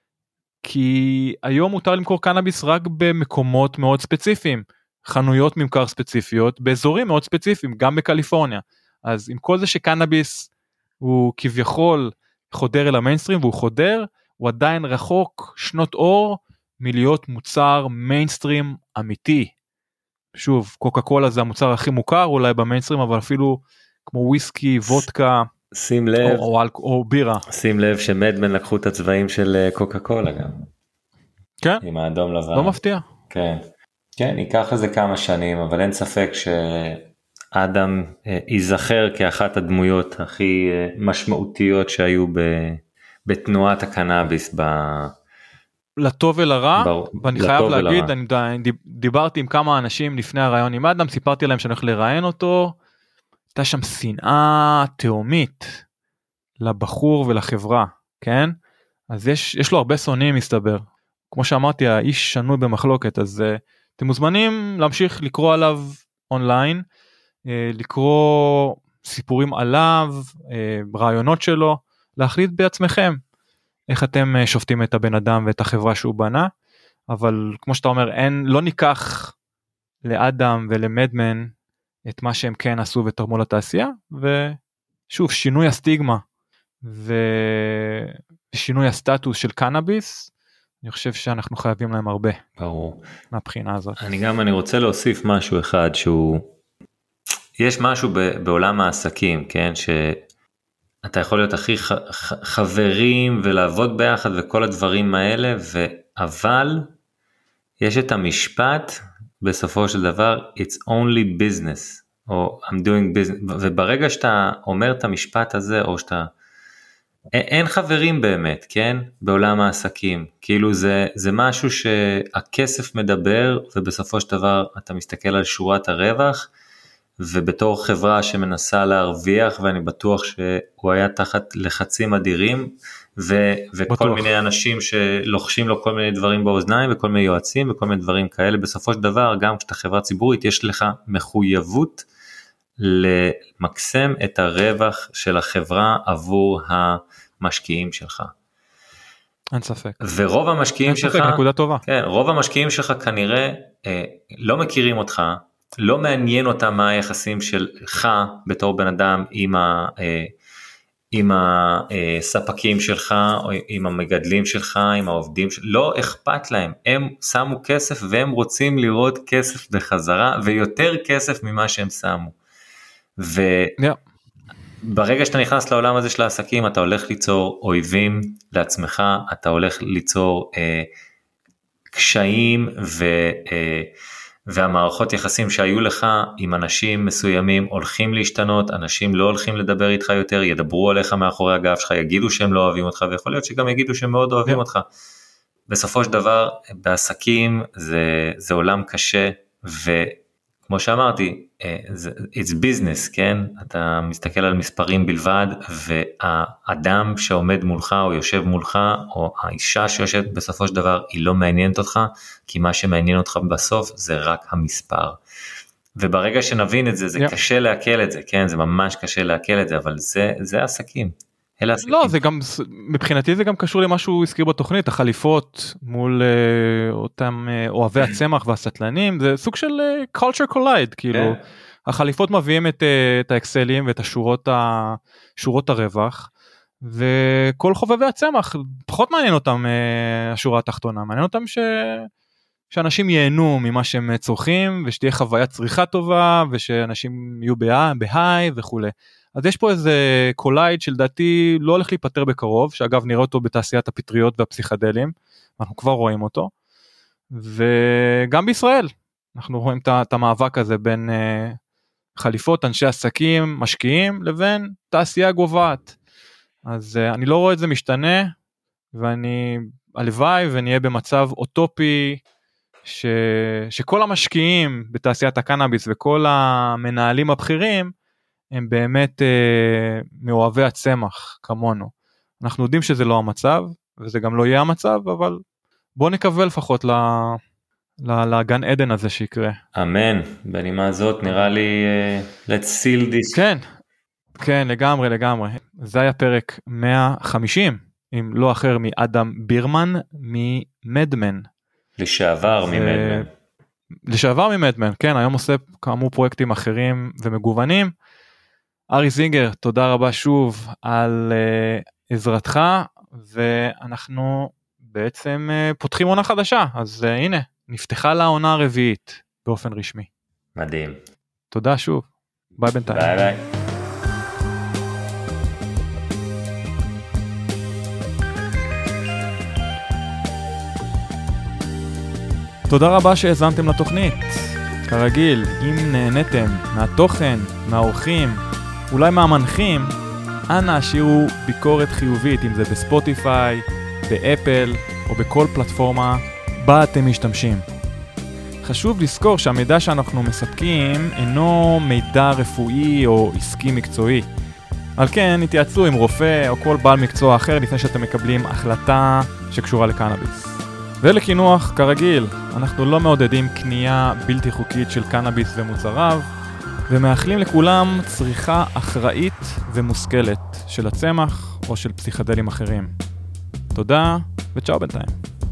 כי היום מותר למכור קנאביס רק במקומות מאוד ספציפיים, חנויות ממכר ספציפיות, באזורים מאוד ספציפיים, גם בקליפורניה. אז עם כל זה שקנאביס הוא כביכול חודר אל המיינסטרים, והוא חודר, הוא עדיין רחוק שנות אור, מלהיות מוצר מיינסטרים אמיתי. שוב, קוקה קולה זה המוצר הכי מוכר, אולי במיינסטרים, אבל אפילו כמו וויסקי, וודקה, שים לב, או, או, או בירה. שים לב שמדמן לקחו את הצבעים של קוקה קולה גם. כן. עם האדום לבן. לא מפתיע. כן. כן, ייקח לזה כמה שנים, אבל אין ספק שאדם ייזכר כאחת הדמויות הכי משמעותיות שהיו בתנועת הקנאביס. ב... לטוב ולרע, בר... ואני חייב להגיד, אני דיברתי עם כמה אנשים לפני הרעיון עם אדם, סיפרתי להם שאני הולך לראיין אותו, הייתה שם שנאה תאומית לבחור ולחברה, כן? אז יש, יש לו הרבה שונאים מסתבר. כמו שאמרתי, האיש שנוי במחלוקת, אז uh, אתם מוזמנים להמשיך לקרוא עליו אונליין, uh, לקרוא סיפורים עליו, uh, רעיונות שלו, להחליט בעצמכם איך אתם uh, שופטים את הבן אדם ואת החברה שהוא בנה, אבל כמו שאתה אומר, אין, לא ניקח לאדם ולמדמן את מה שהם כן עשו ותרמו לתעשייה, ושוב, שינוי הסטיגמה ושינוי הסטטוס של קנאביס, אני חושב שאנחנו חייבים להם הרבה. ברור. מהבחינה הזאת. אני גם, אני רוצה להוסיף משהו אחד שהוא, יש משהו בעולם העסקים, כן, שאתה יכול להיות הכי חברים ולעבוד ביחד וכל הדברים האלה, אבל יש את המשפט, בסופו של דבר, it's only business, או I'm doing business, וברגע שאתה אומר את המשפט הזה, או שאתה, אין חברים באמת, כן? בעולם העסקים, כאילו זה, זה משהו שהכסף מדבר, ובסופו של דבר אתה מסתכל על שורת הרווח, ובתור חברה שמנסה להרוויח, ואני בטוח שהוא היה תחת לחצים אדירים, ו, וכל בטוח. מיני אנשים שלוחשים לו כל מיני דברים באוזניים, וכל מיני יועצים, וכל מיני דברים כאלה, בסופו של דבר, גם כשאתה חברה ציבורית, יש לך מחויבות, למקסם את הרווח של החברה, עבור המשקיעים שלך. אין ספק. ורוב המשקיעים אין שלך, ספק, נקודה טובה. כן, רוב המשקיעים שלך כנראה, אה, לא מכירים אותך, לא מעניין אותם מה היחסים שלך בתור בן אדם עם ה, אה, עם הספקים שלך, או עם המגדלים שלך, עם העובדים, לא אכפת להם, הם שמו כסף והם רוצים לראות כסף בחזרה, ויותר כסף ממה שהם שמו. וברגע yeah. שאתה נכנס לעולם הזה של העסקים, אתה הולך ליצור אויבים לעצמך, אתה הולך ליצור אה, קשיים ו... אה, והמערכות יחסים שהיו לך עם אנשים מסוימים הולכים להשתנות, אנשים לא הולכים לדבר איתך יותר, ידברו עליך מאחורי הגב שלך, יגידו שהם לא אוהבים אותך, ויכול להיות שגם יגידו שהם מאוד אוהבים אותך. בסופו של דבר, בעסקים זה, זה עולם קשה, וכמו שאמרתי, it's business, כן? אתה מסתכל על מספרים בלבד, והאדם שעומד מולך, או יושב מולך, או האישה שיושבת בסופו של דבר, היא לא מעניינת אותך, כי מה שמעניין אותך בסוף, זה רק המספר. וברגע שנבין את זה, זה yeah. קשה להקל את זה, כן? זה ממש קשה להקל את זה, אבל זה, זה עסקים. אלה עסקים. לא, זה גם, מבחינתי זה גם קשור למה שהוא הזכיר בתוכנית, החליפות מול uh, אותם uh, אוהבי הצמח והסטלנים, זה סוג של uh, culture collide, כאילו, yeah. החליפות מביאים את, uh, את האקסלים ואת השורות, ה, שורות הרווח, וכל חובבי הצמח, פחות מעניין אותם uh, השורה התחתונה, מעניין אותם ש... שאנשים ייהנו ממה שהם צורכים, ושתהיה חוויית צריכה טובה, ושאנשים יהיו בהיי וכו'. אז יש פה איזה קולייד שלדעתי לא הולך להיפטר בקרוב, שאגב נראה אותו בתעשיית הפטריות והפסיכדלים, אנחנו כבר רואים אותו, וגם בישראל, אנחנו רואים את המאבק הזה בין חליפות, אנשי עסקים, משקיעים, לבין תעשייה גובעת. אז אני לא רואה את זה משתנה, ואני הלוואי ונהיה במצב אוטופי, ש... שכל המשקיעים בתעשיית הקנאביס וכל המנהלים הבכירים הם באמת אה, מאוהבי הצמח כמונו. אנחנו יודעים שזה לא המצב וזה גם לא יהיה המצב, אבל בוא נקווה לפחות ל... ל... לגן עדן הזה שיקרה. אמן. בנימה הזאת נראה לי uh, let's seal this. כן, כן לגמרי לגמרי. זה היה פרק מאה וחמישים עם לא אחר מאדם בירמן ממדמן. לשעבר ממדמן. לשעבר ממדמן, כן, היום עושה כאמור פרויקטים אחרים ומגוונים. ארי זינגר, תודה רבה שוב על uh, עזרתך, ואנחנו בעצם uh, פותחים עונה חדשה, אז uh, הנה, נפתחה לה עונה הרביעית באופן רשמי. מדהים. תודה שוב, ביי בינתיים. ביי ביי. תודה רבה שהאזנתם לתוכנית. כרגיל, אם נהניתם מהתוכן, מהאורחים, אולי מהמנחים, אנא השאירו ביקורת חיובית, אם זה בספוטיפיי, באפל או בכל פלטפורמה בה אתם משתמשים. חשוב לזכור שהמידע שאנחנו מספקים אינו מידע רפואי או עסקי מקצועי. על כן, התייעצו עם רופא או כל בעל מקצוע אחר לפני שאתם מקבלים החלטה שקשורה לקנאביס. ולכינוח, כרגיל, אנחנו לא מעודדים קנייה בלתי חוקית של קנאביס ומוצריו, ומאחלים לכולם צריכה אחראית ומושכלת של הצמח או של פסיכדלים אחרים. תודה וצ'או בינתיים.